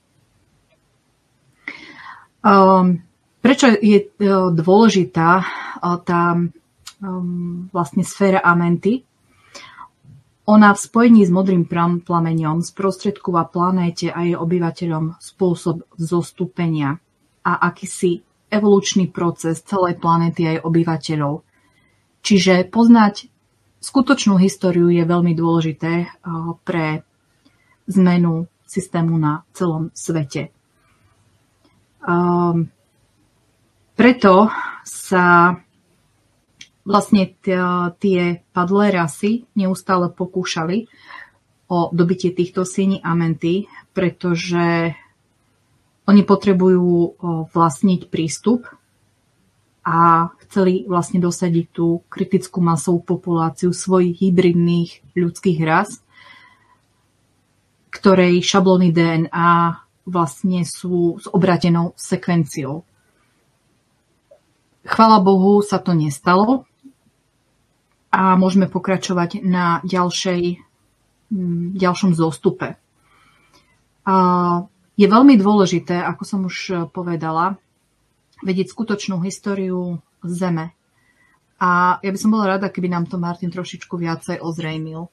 Prečo je dôležitá tá vlastne sféra Amenty? Ona v spojení s modrým plameňom sprostredkúva planéte a jej obyvateľom spôsob zostúpenia a akýsi evolučný proces celej planéty a jej obyvateľov. Čiže poznať skutočnú históriu je veľmi dôležité pre zmenu systému na celom svete. Preto sa vlastne tie padlé rasy neustále pokúšali o dobitie týchto siení Amenty, pretože oni potrebujú vlastniť prístup a chceli vlastne dosadiť tú kritickú masovú populáciu svojich hybridných ľudských ras, ktorej šablóny dé en á vlastne sú s obratenou sekvenciou. Chvála Bohu sa to nestalo a môžeme pokračovať na ďalšej, ďalšom zostupe. Je veľmi dôležité, ako som už povedala, vedieť skutočnú históriu Zeme. A ja by som bola rada, keby nám to Martin trošičku viacej ozrejmil.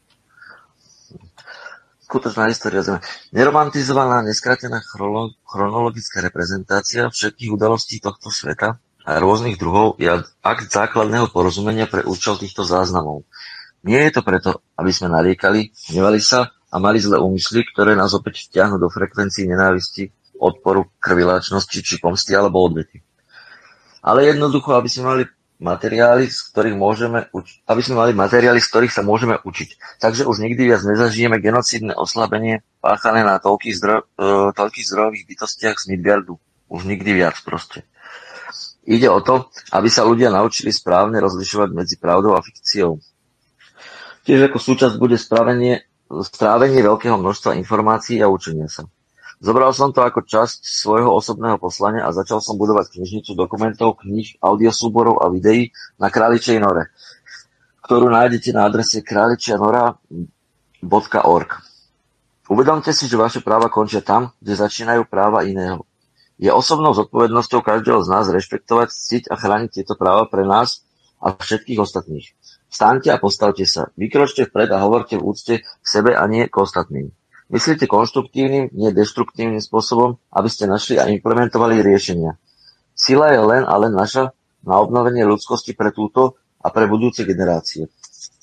Skutočná história Zeme. Neromantizovaná, neskratená chronologická reprezentácia všetkých udalostí tohto sveta a rôznych druhov je akt základného porozumenia pre účel týchto záznamov. Nie je to preto, aby sme nariekali, hnevali sa a mali zlé úmysly, ktoré nás opäť vtiahnu do frekvencií nenávisti, odporu, krviláčnosti či pomsty alebo odvety. Ale jednoducho, aby sme mali materiály, z ktorých môžeme učiť, aby sme mali materiály, z ktorých sa môžeme učiť. Takže už nikdy viac nezažijeme genocídne oslabenie páchané na toľkých, zdro, uh, toľkých zdrojových bytostiach z Midgardu. Už nikdy viac proste. Ide o to, aby sa ľudia naučili správne rozlišovať medzi pravdou a fikciou. Tiež ako súčasť bude strávenie, strávenie veľkého množstva informácií a učenia sa. Zobral som to ako časť svojho osobného poslania a začal som budovať knižnicu dokumentov, kníh, audiosúborov a videí na Králičej nore, ktorú nájdete na adrese králičianora bodka org. Uvedomte si, že vaše práva končia tam, kde začínajú práva iného. Je osobnou zodpovednosťou každého z nás rešpektovať, ctiť a chrániť tieto práva pre nás a všetkých ostatných. Vstaňte a postavte sa, vykročte vpred a hovorte v úcte k sebe a nie k ostatným. Myslíte konštruktívnym, nie deštruktívnym spôsobom, aby ste našli a implementovali riešenia. Sila je len a len naša na obnovenie ľudskosti pre túto a pre budúce generácie.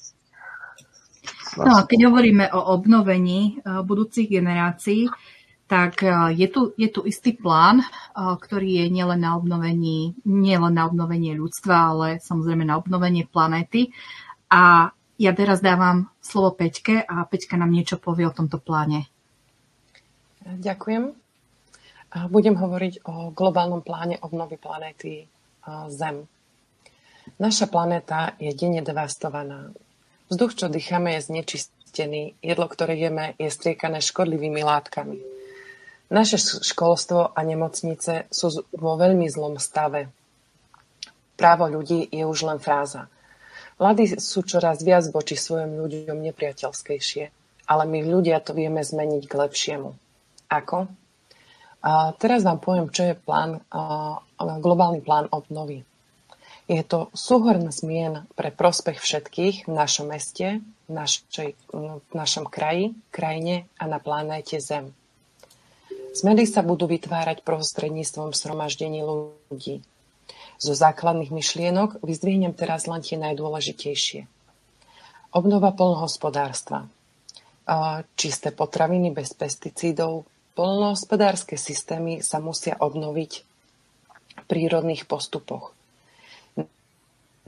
No, keď hovoríme o obnovení budúcich generácií, tak je tu, je tu istý plán, ktorý je nielen na obnovení, nielen na obnovenie ľudstva, ale samozrejme na obnovenie planéty. A ja teraz dávam slovo Peťke a Peťka nám niečo povie o tomto pláne. Ďakujem. Budem hovoriť o globálnom pláne obnovy planéty Zem. Naša planéta je denne devastovaná. Vzduch, čo dýchame, je znečistený. Jedlo, ktoré jeme, je striekané škodlivými látkami. Naše školstvo a nemocnice sú vo veľmi zlom stave. Právo ľudí je už len fráza. Mladí sú čoraz viac voči svojim ľuďom nepriateľskejšie, ale my ľudia to vieme zmeniť k lepšiemu. Ako? A teraz vám poviem, čo je plán, globálny plán obnovy. Je to súhrn zmien pre prospech všetkých v našom meste, v, našej, v našom kraji, krajine a na planéte Zem. Zmeny sa budú vytvárať prostredníctvom zhromaždení ľudí. Zo základných myšlienok vyzdvihnem teraz len tie najdôležitejšie. Obnova poľnohospodárstva. Čisté potraviny bez pesticídov. Poľnohospodárske systémy sa musia obnoviť v prírodných postupoch.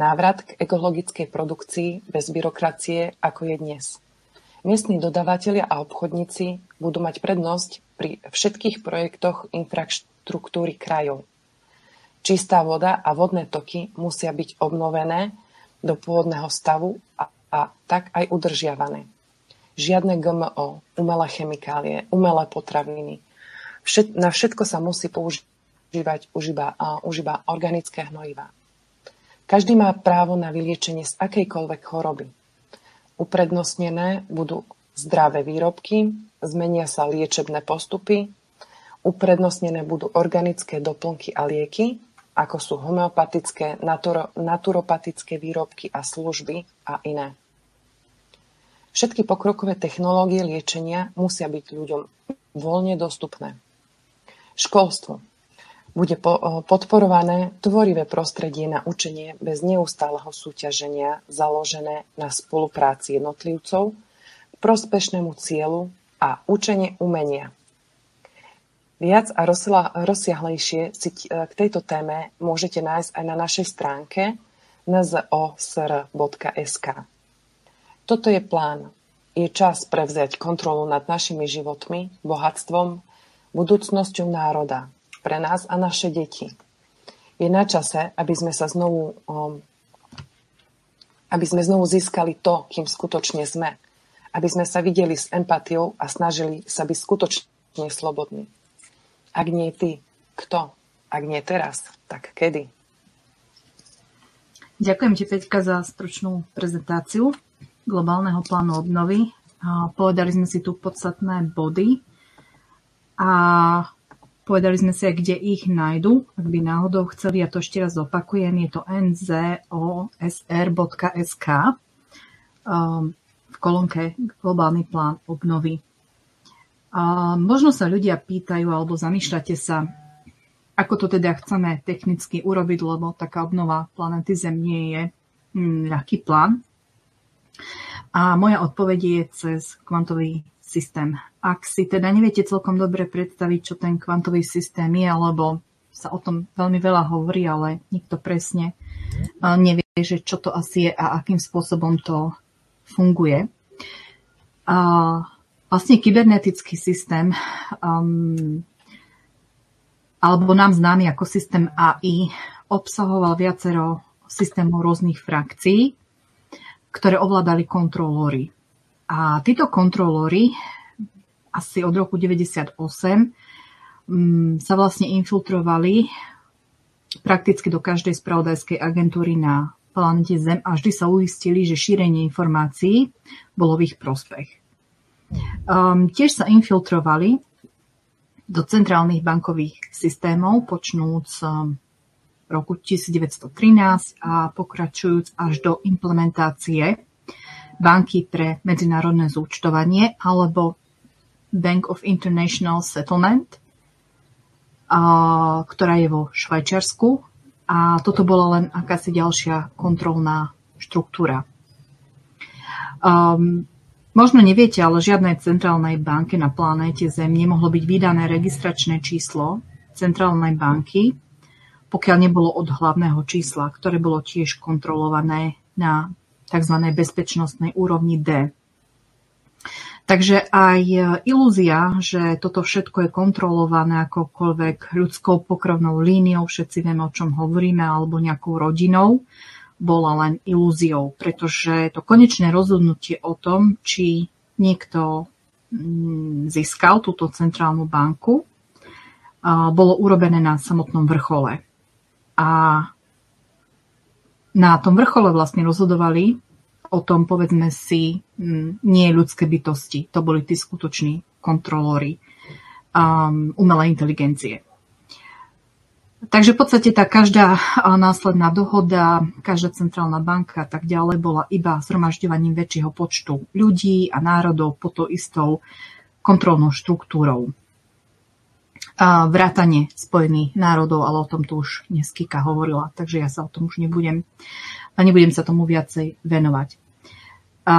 Návrat k ekologickej produkcii bez byrokracie, ako je dnes. Miestni dodavatelia a obchodníci budú mať prednosť pri všetkých projektoch infraštruktúry krajov. Čistá voda a vodné toky musia byť obnovené do pôvodného stavu a, a tak aj udržiavané. Žiadne gé em ó, umelé chemikálie, umelé potraviny. Všet, na všetko sa musí používať už iba, uh, už iba organické hnojivá. Každý má právo na vyliečenie z akejkoľvek choroby. Uprednostnené budú zdravé výrobky, zmenia sa liečebné postupy, uprednostnené budú organické doplnky a lieky, ako sú homeopatické, naturo, naturopatické výrobky a služby a iné. Všetky pokrokové technológie liečenia musia byť ľuďom voľne dostupné. Školstvo. Bude podporované tvorivé prostredie na učenie bez neustáleho súťaženia založené na spolupráci jednotlivcov k prospešnému cieľu a učenie umenia. Viac a rozsiahlejšie si k tejto téme môžete nájsť aj na našej stránke en zet o es er bodka es ká. Toto je plán. Je čas prevziať kontrolu nad našimi životmi, bohatstvom, budúcnosťou národa, pre nás a naše deti. Je na čase, aby sme sa znovu, um, aby sme znovu získali to, kým skutočne sme. Aby sme sa videli s empatiou a snažili sa byť skutočne slobodní. Ak nie ty, kto? Ak nie teraz, tak kedy? Ďakujem ti, Peťka, za stručnú prezentáciu globálneho plánu obnovy. Povedali sme si tu podstatné body a povedali sme si aj, kde ich nájdu, ak by náhodou chceli, ja to ešte raz opakujem, je to en zet o es er bodka es ká v kolónke Globálny plán obnovy. A možno sa ľudia pýtajú alebo zamýšľate sa, ako to teda chceme technicky urobiť, lebo taká obnova planéty Zem nie je hm, ľahký plán. A moja odpoveď je cez kvantový systém. Ak si teda neviete celkom dobre predstaviť, čo ten kvantový systém je, alebo sa o tom veľmi veľa hovorí, ale nikto presne nevie, že čo to asi je a akým spôsobom to funguje. A vlastne kybernetický systém, um, alebo nám známy ako systém á í, obsahoval viacero systémov rôznych frakcií, ktoré ovládali kontrolóri. A títo kontrolóri asi od roku deväťdesiatosem um, sa vlastne infiltrovali prakticky do každej spravodajskej agentúry na planete Zem a vždy sa uistili, že šírenie informácií bolo v ich prospech. Um, tiež sa infiltrovali do centrálnych bankových systémov, počnúc um, roku devätnásťstotrinásť a pokračujúc až do implementácie banky pre medzinárodné zúčtovanie alebo Bank of International Settlement, a, ktorá je vo Švajčiarsku. A toto bola len akási ďalšia kontrolná štruktúra. Um, možno neviete, ale žiadnej centrálnej banke na planéte Zem nemohlo byť vydané registračné číslo centrálnej banky, pokiaľ nebolo od hlavného čísla, ktoré bolo tiež kontrolované na tzv. Bezpečnostnej úrovni D. Takže aj ilúzia, že toto všetko je kontrolované akokoľvek ľudskou pokrvnou líniou, všetci vieme, o čom hovoríme, alebo nejakou rodinou, bola len ilúziou, pretože to konečné rozhodnutie o tom, či niekto získal túto centrálnu banku, bolo urobené na samotnom vrchole. A na tom vrchole vlastne rozhodovali o tom, povedzme si, nie ľudské bytosti. To boli tí skutoční kontrolóri um, umelej inteligencie. Takže v podstate tá každá následná dohoda, každá centrálna banka a tak ďalej bola iba zhromažďovaním väčšieho počtu ľudí a národov pod tou istou kontrolnou štruktúrou. A vrátane Spojených národov, ale o tom tu už dnes Kika hovorila, takže ja sa o tom už nebudem, nebudem sa tomu viacej venovať. A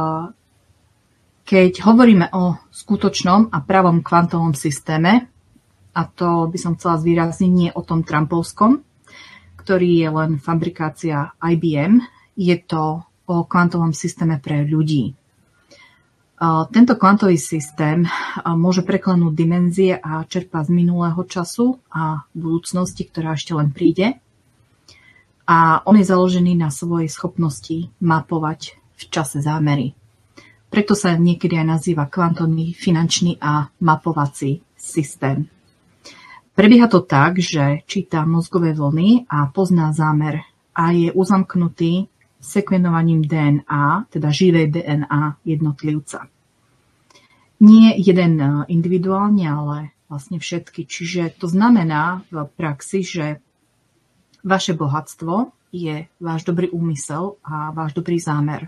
keď hovoríme o skutočnom a pravom kvantovom systéme, a to by som chcela zvýrazniť nie o tom trumpovskom, ktorý je len fabrikácia í bé em. Je to o kvantovom systéme pre ľudí. Tento kvantový systém môže preklenúť dimenzie a čerpá z minulého času a budúcnosti, ktorá ešte len príde. A on je založený na svojej schopnosti mapovať v čase zámery. Preto sa niekedy aj nazýva kvantový finančný a mapovací systém. Prebieha to tak, že číta mozgové vlny a pozná zámer a je uzamknutý sekvenovaním dé en á, teda živej dé en á jednotlivca. Nie jeden individuálne, ale vlastne všetky. Čiže to znamená v praxi, že vaše bohatstvo je váš dobrý úmysel a váš dobrý zámer.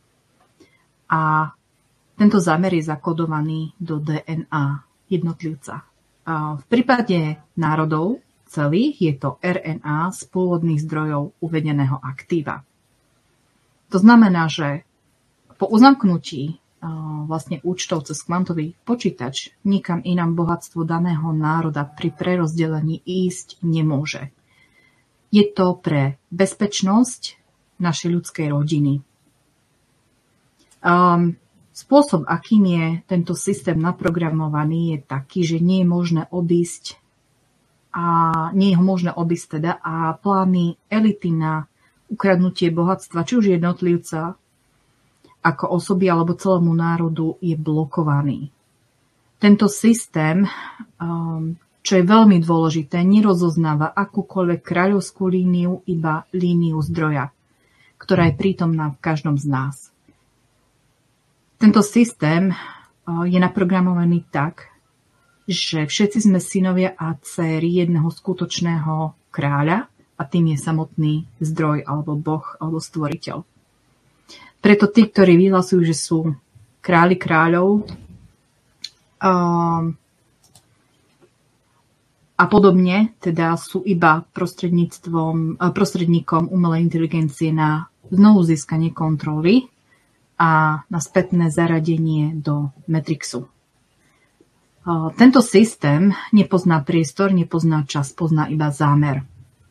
A tento zámer je zakodovaný do dé en á jednotlivca. A v prípade národov celých je to er en á z pôvodných zdrojov uvedeného aktíva. To znamená, že po uzamknutí vlastne účtov cez kvantový počítač nikam inám bohatstvo daného národa pri prerozdelení ísť nemôže. Je to pre bezpečnosť našej ľudskej rodiny. Um, spôsob, akým je tento systém naprogramovaný, je taký, že nie je možné obísť a nie je ho možné obísť teda a plány elity na ukradnutie bohatstva, či už jednotlivca, ako osoby alebo celému národu je blokovaný. Tento systém, čo je veľmi dôležité, nerozoznáva akúkoľvek kráľovskú líniu, iba líniu zdroja, ktorá je prítomná v každom z nás. Tento systém je naprogramovaný tak, že všetci sme synovia a dcéry jedného skutočného kráľa a tým je samotný zdroj alebo boh alebo stvoriteľ. Preto tí, ktorí vyhlasujú, že sú králi kráľov a podobne, teda sú iba prostredníctvom, prostredníkom umelej inteligencie na znovu získanie kontroly a na spätné zaradenie do Matrixu. Tento systém nepozná priestor, nepozná čas, pozná iba zámer.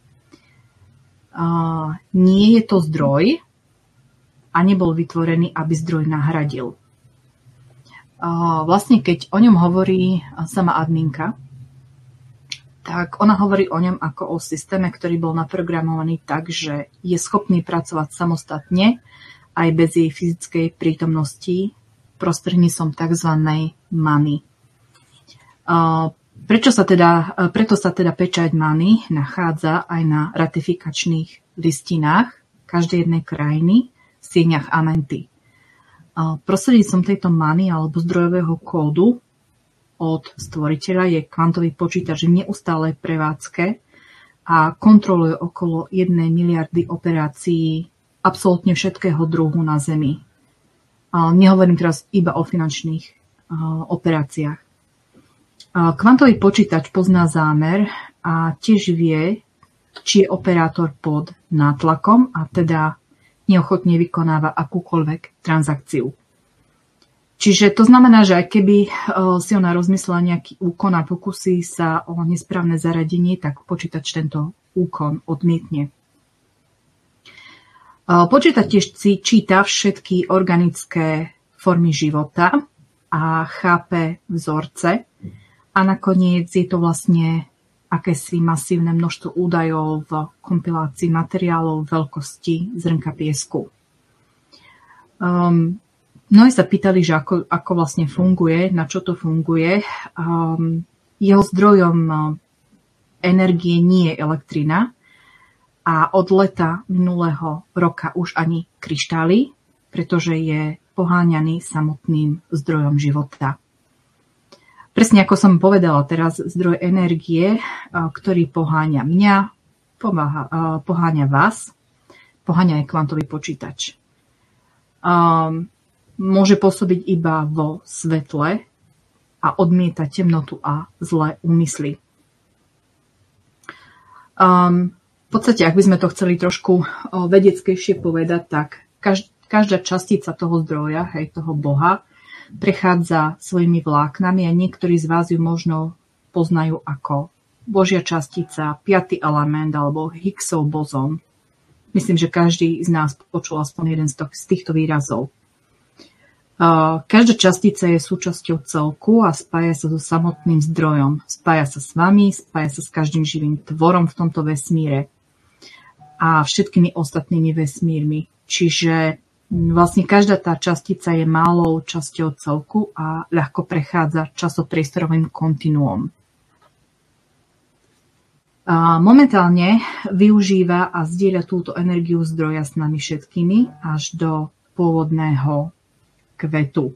Nie je to zdroj, a nebol vytvorený, aby zdroj nahradil. Vlastne, keď o ňom hovorí sama adminka, tak ona hovorí o ňom ako o systéme, ktorý bol naprogramovaný tak, že je schopný pracovať samostatne aj bez jej fyzickej prítomnosti prostredníctvom tzv. Many. Prečo sa teda, preto sa teda pečať Many nachádza aj na ratifikačných listinách každej jednej krajiny, v sieňach Amenty. Prostredníctvom tejto many alebo zdrojového kódu od stvoriteľa je kvantový počítač v neustálej prevádzke a kontroluje okolo jednej miliardy operácií absolútne všetkého druhu na Zemi. Nehovorím teraz iba o finančných operáciách. Kvantový počítač pozná zámer a tiež vie, či je operátor pod nátlakom a teda neochotne vykonáva akúkoľvek transakciu. Čiže to znamená, že aj keby si ona rozmyslela nejaký úkon a pokusí sa o nesprávne zaradenie, tak počítač tento úkon odmietne. Počítač tiež číta všetky organické formy života a chápe vzorce a nakoniec je to vlastne akési masívne množstvo údajov v kompilácii materiálov veľkosti zrnka piesku. Um, mnohí sa pýtali, že ako, ako vlastne funguje, na čo to funguje. Um, jeho zdrojom energie nie je elektrina a od leta minulého roka už ani kryštály, pretože je poháňaný samotným zdrojom života. Presne ako som povedala, teraz zdroj energie, ktorý poháňa mňa, pomáha, poháňa vás, poháňa aj kvantový počítač. Môže pôsobiť iba vo svetle a odmieta temnotu a zlé úmysly. V podstate, ak by sme to chceli trošku vedeckejšie povedať, tak každá častica toho zdroja, hej, toho Boha, prechádza svojimi vláknami a niektorí z vás ju možno poznajú ako Božia častica, piaty element alebo Higgsov bozón. Myslím, že každý z nás počul aspoň jeden z týchto výrazov. Každá častica je súčasťou celku a spája sa so samotným zdrojom. Spája sa s vami, spája sa s každým živým tvorom v tomto vesmíre a všetkými ostatnými vesmírmi. Čiže vlastne každá tá častica je malou časťou celku a ľahko prechádza časopriestorovým kontinuom. A momentálne využíva a zdieľa túto energiu zdroja s nami všetkými až do pôvodného kvetu.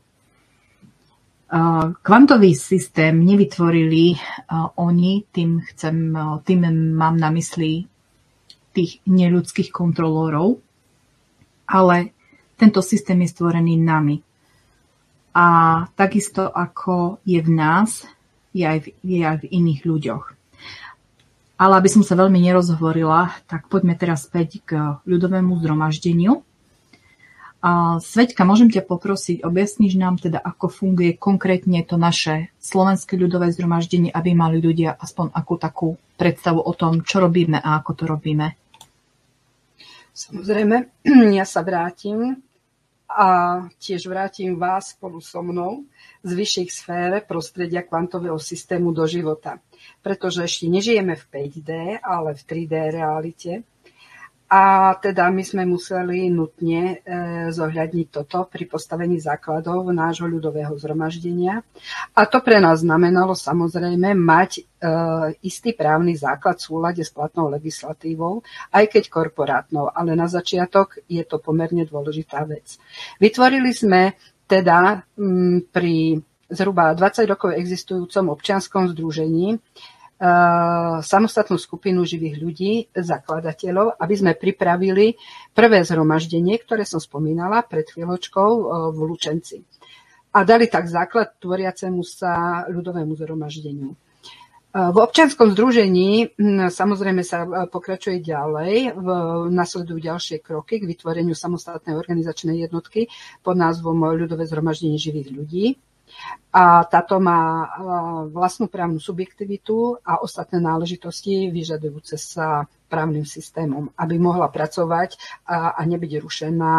Kvantový systém nevytvorili oni, tým, chcem, tým mám na mysli tých neľudských kontrolórov, ale tento systém je stvorený nami. A takisto ako je v nás, je aj v, je aj v iných ľuďoch. Ale aby som sa veľmi nerozhovorila, tak poďme teraz späť k ľudovému zhromaždeniu. Sveťka, môžem ťa poprosiť, objasníš nám teda, ako funguje konkrétne to naše slovenské ľudové zhromaždenie, aby mali ľudia aspoň akú takú predstavu o tom, čo robíme a ako to robíme. Samozrejme, ja sa vrátim a tiež vrátim vás spolu so mnou z vyšších sfér prostredia kvantového systému do života. Pretože ešte nežijeme v päť dé, ale v tri dé realite. A teda my sme museli nutne e, zohľadniť toto pri postavení základov nášho ľudového zhromaždenia. A to pre nás znamenalo samozrejme mať e, istý právny základ v súlade s platnou legislatívou, aj keď korporátnou. Ale na začiatok je to pomerne dôležitá vec. Vytvorili sme teda m, pri zhruba dvadsať rokov existujúcom občianskom združení samostatnú skupinu živých ľudí, zakladateľov, aby sme pripravili prvé zhromaždenie, ktoré som spomínala pred chvíľočkou v Lučenci. A dali tak základ tvoriacemu sa ľudovému zhromaždeniu. V občianskom združení samozrejme sa pokračuje ďalej, nasledujú ďalšie kroky k vytvoreniu samostatnej organizačnej jednotky pod názvom Ľudové zhromaždenie živých ľudí. A táto má vlastnú právnu subjektivitu a ostatné náležitosti vyžadujúce sa právnym systémom, aby mohla pracovať a, a nebyť rušená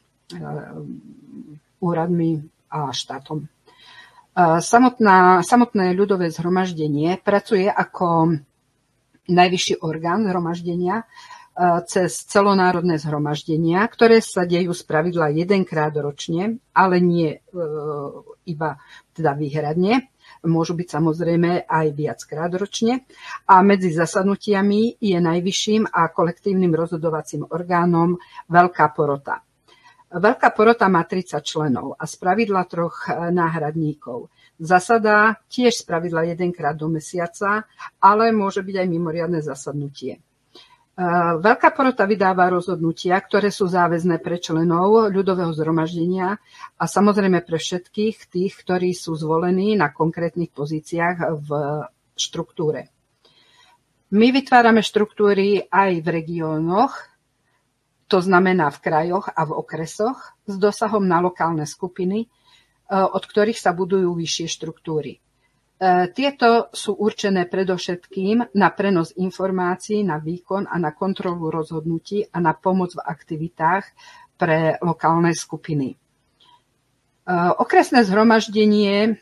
úradmi a štátom. Samotná, samotné ľudové zhromaždenie pracuje ako najvyšší orgán zhromaždenia cez celonárodné zhromaždenia, ktoré sa dejú spravidla jedenkrát ročne, ale nie e, iba teda výhradne. Môžu byť samozrejme aj viackrát ročne. A medzi zasadnutiami je najvyšším a kolektívnym rozhodovacím orgánom Veľká porota. Veľká porota má tridsať členov a spravidla troch náhradníkov. Zasadá tiež spravidla jedenkrát do mesiaca, ale môže byť aj mimoriadne zasadnutie. Veľká porota vydáva rozhodnutia, ktoré sú záväzné pre členov ľudového zhromaždenia a samozrejme pre všetkých tých, ktorí sú zvolení na konkrétnych pozíciách v štruktúre. My vytvárame štruktúry aj v regiónoch, to znamená v krajoch a v okresoch, s dosahom na lokálne skupiny, od ktorých sa budujú vyššie štruktúry. Tieto sú určené predovšetkým na prenos informácií, na výkon a na kontrolu rozhodnutí a na pomoc v aktivitách pre lokálne skupiny. Okresné zhromaždenie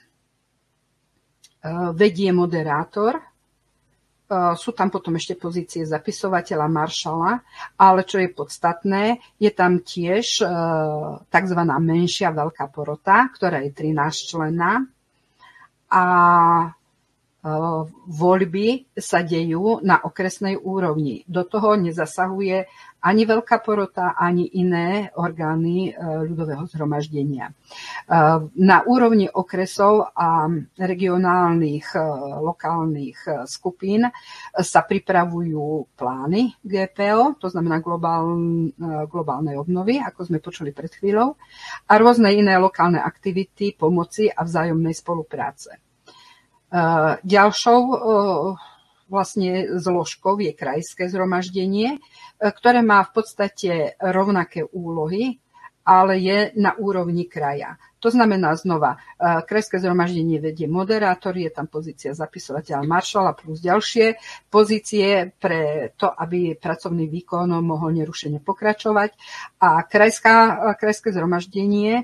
vedie moderátor. Sú tam potom ešte pozície zapisovateľa, maršala, ale čo je podstatné, je tam tiež tzv. Menšia veľká porota, ktorá je trinásťčlenná. A voľby sa dejú na okresnej úrovni. Do toho nezasahuje ani Veľká porota, ani iné orgány ľudového zhromaždenia. Na úrovni okresov a regionálnych lokálnych skupín sa pripravujú plány gé pé ó, to znamená globálnej obnovy, ako sme počuli pred chvíľou, a rôzne iné lokálne aktivity, pomoci a vzájomnej spolupráce. Ďalšou vlastne zložkou je krajské zhromaždenie, ktoré má v podstate rovnaké úlohy ale je na úrovni kraja. To znamená znova, krajské zhromaždenie vedie moderátor, je tam pozícia zapisovateľa maršala plus ďalšie pozície pre to, aby pracovný výkon mohol nerušene pokračovať. A krajská, krajské zhromaždenie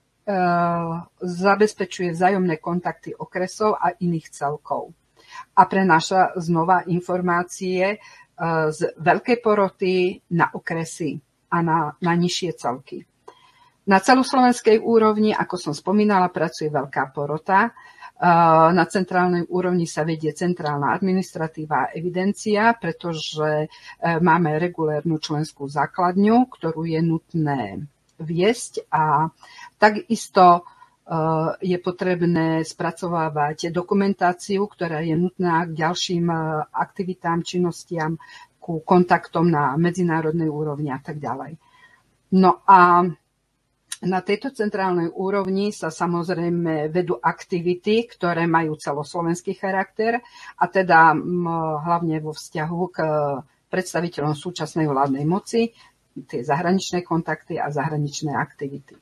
zabezpečuje vzájomné kontakty okresov a iných celkov. A prenáša znova informácie z veľkej poroty na okresy a na, na nižšie celky. Na celoslovenskej úrovni, ako som spomínala, pracuje veľká porota. Na centrálnej úrovni sa vedie centrálna administratíva a evidencia, pretože máme regulérnu členskú základňu, ktorú je nutné viesť a takisto je potrebné spracovávať dokumentáciu, ktorá je nutná k ďalším aktivitám, činnostiam, ku kontaktom na medzinárodnej úrovni a tak ďalej. No a na tejto centrálnej úrovni sa samozrejme vedú aktivity, ktoré majú celoslovenský charakter a teda hlavne vo vzťahu k predstaviteľom súčasnej vládnej moci, tie zahraničné kontakty a zahraničné aktivity.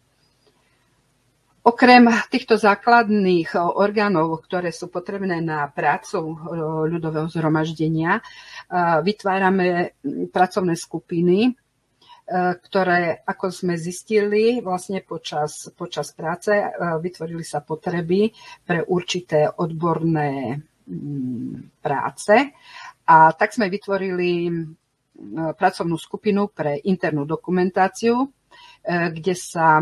Okrem týchto základných orgánov, ktoré sú potrebné na prácu ľudového zhromaždenia, vytvárame pracovné skupiny, ktoré, ako sme zistili, vlastne počas, počas práce vytvorili sa potreby pre určité odborné práce. A tak sme vytvorili pracovnú skupinu pre internú dokumentáciu, kde sa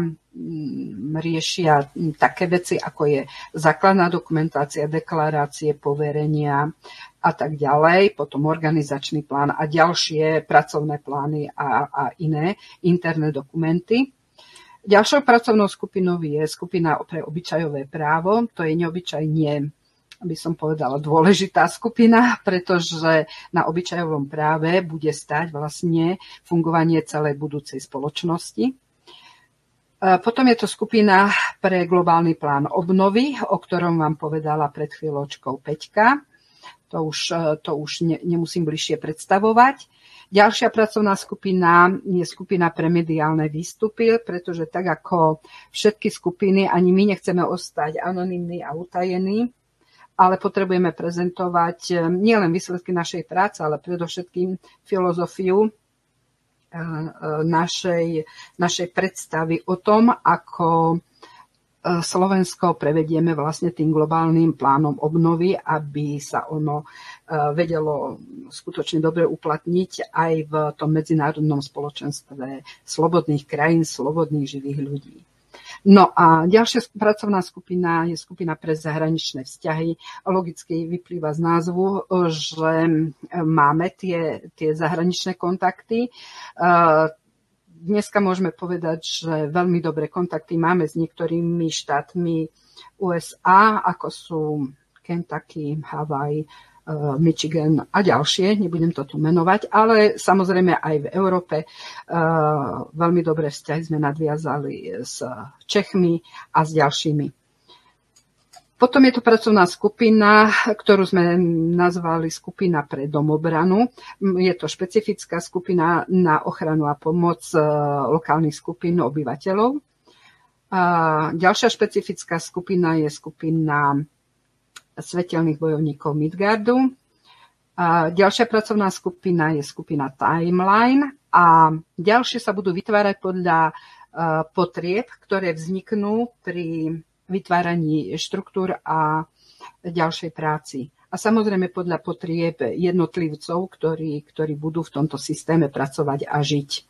riešia také veci, ako je základná dokumentácia, deklarácie, poverenia a tak ďalej, potom organizačný plán a ďalšie pracovné plány a, a iné interné dokumenty. Ďalšou pracovnou skupinou je skupina pre obyčajové právo. To je neobyčajne, by som povedala, dôležitá skupina, pretože na obyčajovom práve bude stáť vlastne fungovanie celej budúcej spoločnosti. Potom je to skupina pre globálny plán obnovy, o ktorom vám povedala pred chvíľočkou Peťka. To už, to už ne, nemusím bližšie predstavovať. Ďalšia pracovná skupina je skupina pre mediálne výstupy, pretože tak ako všetky skupiny, ani my nechceme ostať anonymní a utajení, ale potrebujeme prezentovať nielen výsledky našej práce, ale predovšetkým filozofiu našej, našej predstavy o tom, ako Slovensko prevedieme vlastne tým globálnym plánom obnovy, aby sa ono vedelo skutočne dobre uplatniť aj v tom medzinárodnom spoločenstve slobodných krajín, slobodných živých ľudí. No a ďalšia pracovná skupina je skupina pre zahraničné vzťahy. Logicky vyplýva z názvu, že máme tie, tie zahraničné kontakty. Dneska môžeme povedať, že veľmi dobré kontakty máme s niektorými štátmi ú es á, ako sú Kentucky, Hawaii, Michigan a ďalšie, nebudem to tu menovať, ale samozrejme aj v Európe veľmi dobré vzťahy sme nadviazali s Čechmi a s ďalšími. Potom je to pracovná skupina, ktorú sme nazvali skupina pre domobranu. Je to špecifická skupina na ochranu a pomoc lokálnych skupín obyvateľov. A ďalšia špecifická skupina je skupina svetelných bojovníkov Midgardu. A ďalšia pracovná skupina je skupina Timeline a ďalšie sa budú vytvárať podľa potrieb, ktoré vzniknú pri vytváraní štruktúr a ďalšej práci. A samozrejme podľa potrieb jednotlivcov, ktorí, ktorí budú v tomto systéme pracovať a žiť.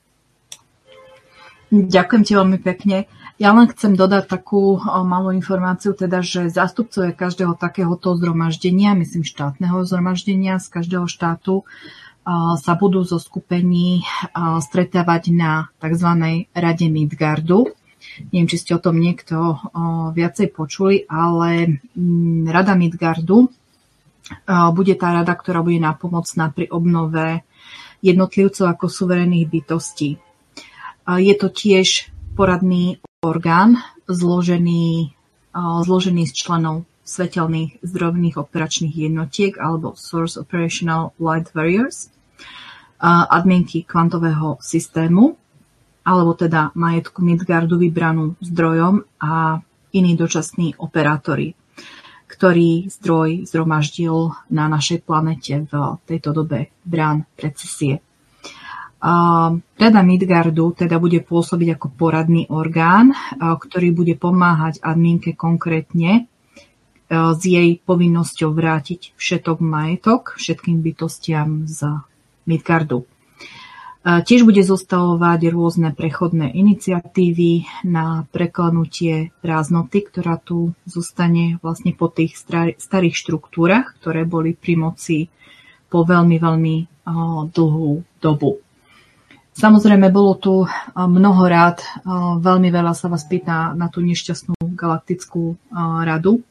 Ďakujem ti veľmi pekne. Ja len chcem dodať takú malú informáciu, teda, že zástupcovia každého takéhoto zhromaždenia, myslím štátneho zhromaždenia z každého štátu, sa budú zo skupení stretávať na tzv. Rade Midgardu. Neviem, či ste o tom niekto viacej počuli, ale Rada Midgardu bude tá rada, ktorá bude nápomocná pri obnove jednotlivcov ako suverénnych bytostí. Je to tiež poradný orgán zložený, zložený z členov svetelných zdrojových operačných jednotiek alebo Source Operational Light Warriors, adminky kvantového systému. alebo teda majetku Midgardu vybranú zdrojom a iní dočasní operátori, ktorý zdroj zhromaždil na našej planete v tejto dobe brán precesie. Rada Midgardu teda bude pôsobiť ako poradný orgán, ktorý bude pomáhať adminke konkrétne s jej povinnosťou vrátiť všetok majetok všetkým bytostiam z Midgardu. Tiež bude zostavovať rôzne prechodné iniciatívy na preklenutie prázdnoty, ktorá tu zostane vlastne po tých starých štruktúrach, ktoré boli pri moci po veľmi, veľmi dlhú dobu. Samozrejme, bolo tu mnoho rád, veľmi veľa sa vás pýta na tú nešťastnú galaktickú radu,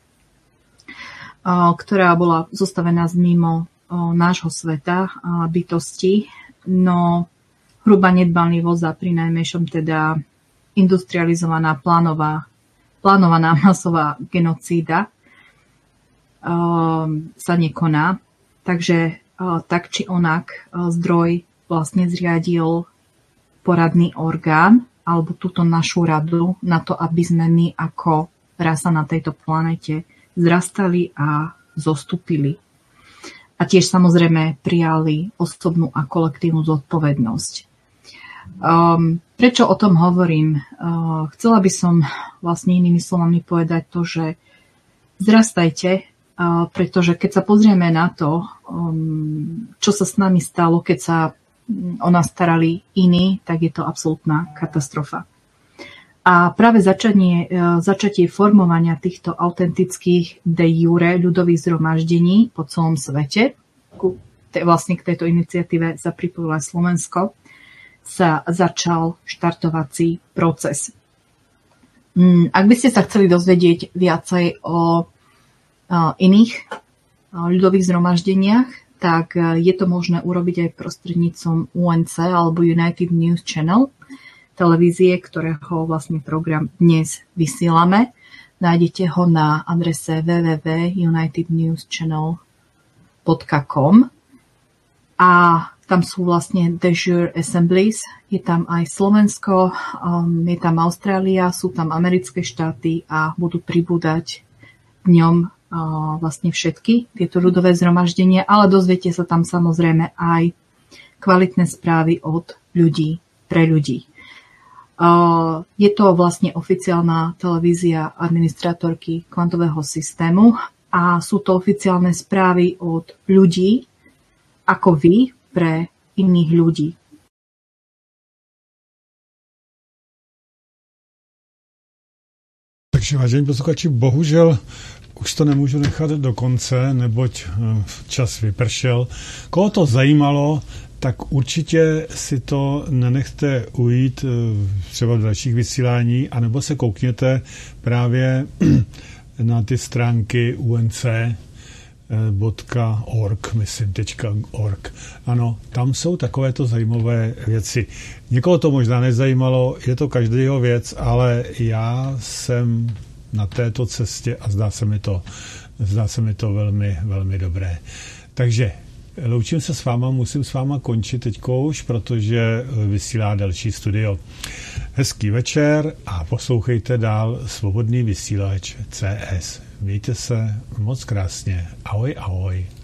ktorá bola zostavená z mimo nášho sveta bytosti, no hrubá nedbanlivosť a prinajmenšom teda industrializovaná plánová, plánovaná masová genocída uh, sa nekoná. Takže uh, tak či onak uh, zdroj vlastne zriadil poradný orgán alebo túto našu radu na to, aby sme my ako rasa na tejto planete zrastali a zostúpili. A tiež samozrejme prijali osobnú a kolektívnu zodpovednosť. Um, prečo o tom hovorím? Uh, chcela by som vlastne inými slovami povedať to, že zrastajte, uh, pretože keď sa pozrieme na to, um, čo sa s nami stalo, keď sa o nás starali iní, tak je to absolútna katastrofa. A práve začanie, uh, začatie formovania týchto autentických de jure ľudových zhromaždení po celom svete, ku, te, vlastne k tejto iniciatíve sa pripojilo aj Slovensko, sa začal štartovací proces. Ak by ste sa chceli dozvedieť viacej o iných ľudových zhromaždeniach, tak je to možné urobiť aj prostredníctvom U N C alebo United News Channel, televízie, ktorého vlastne program dnes vysielame. Nájdete ho na adrese w w w bodka united news channel bodka com a tam sú vlastne de jure assemblies, je tam aj Slovensko, um, je tam Austrália, sú tam americké štáty a budú pribúdať v ňom uh, vlastne všetky tieto ľudové zhromaždenia, ale dozviete sa tam samozrejme aj kvalitné správy od ľudí pre ľudí. Uh, je to vlastne oficiálna televízia administrátorky kvantového systému a sú to oficiálne správy od ľudí ako vy, pre iných ľudí. Takže vážení posluchači, bohužel už to nemůžu nechat do konce, neboť čas vypršel. Koho to zajímalo, tak určitě si to nenechte ujít třeba v dalších vysílání, anebo se koukněte právě na ty stránky U N C .org, myslím, .org. Ano, tam jsou takovéto zajímavé věci. Někoho to možná nezajímalo, je to každého věc, ale já jsem na této cestě a zdá se mi to, zdá se mi to velmi, velmi dobré. Takže loučím se s váma, musím s váma končit teďko už, protože vysílá další studio. Hezký večer a poslouchejte dál Svobodný vysílač C S. Mějte se moc krásně. Ahoj, ahoj.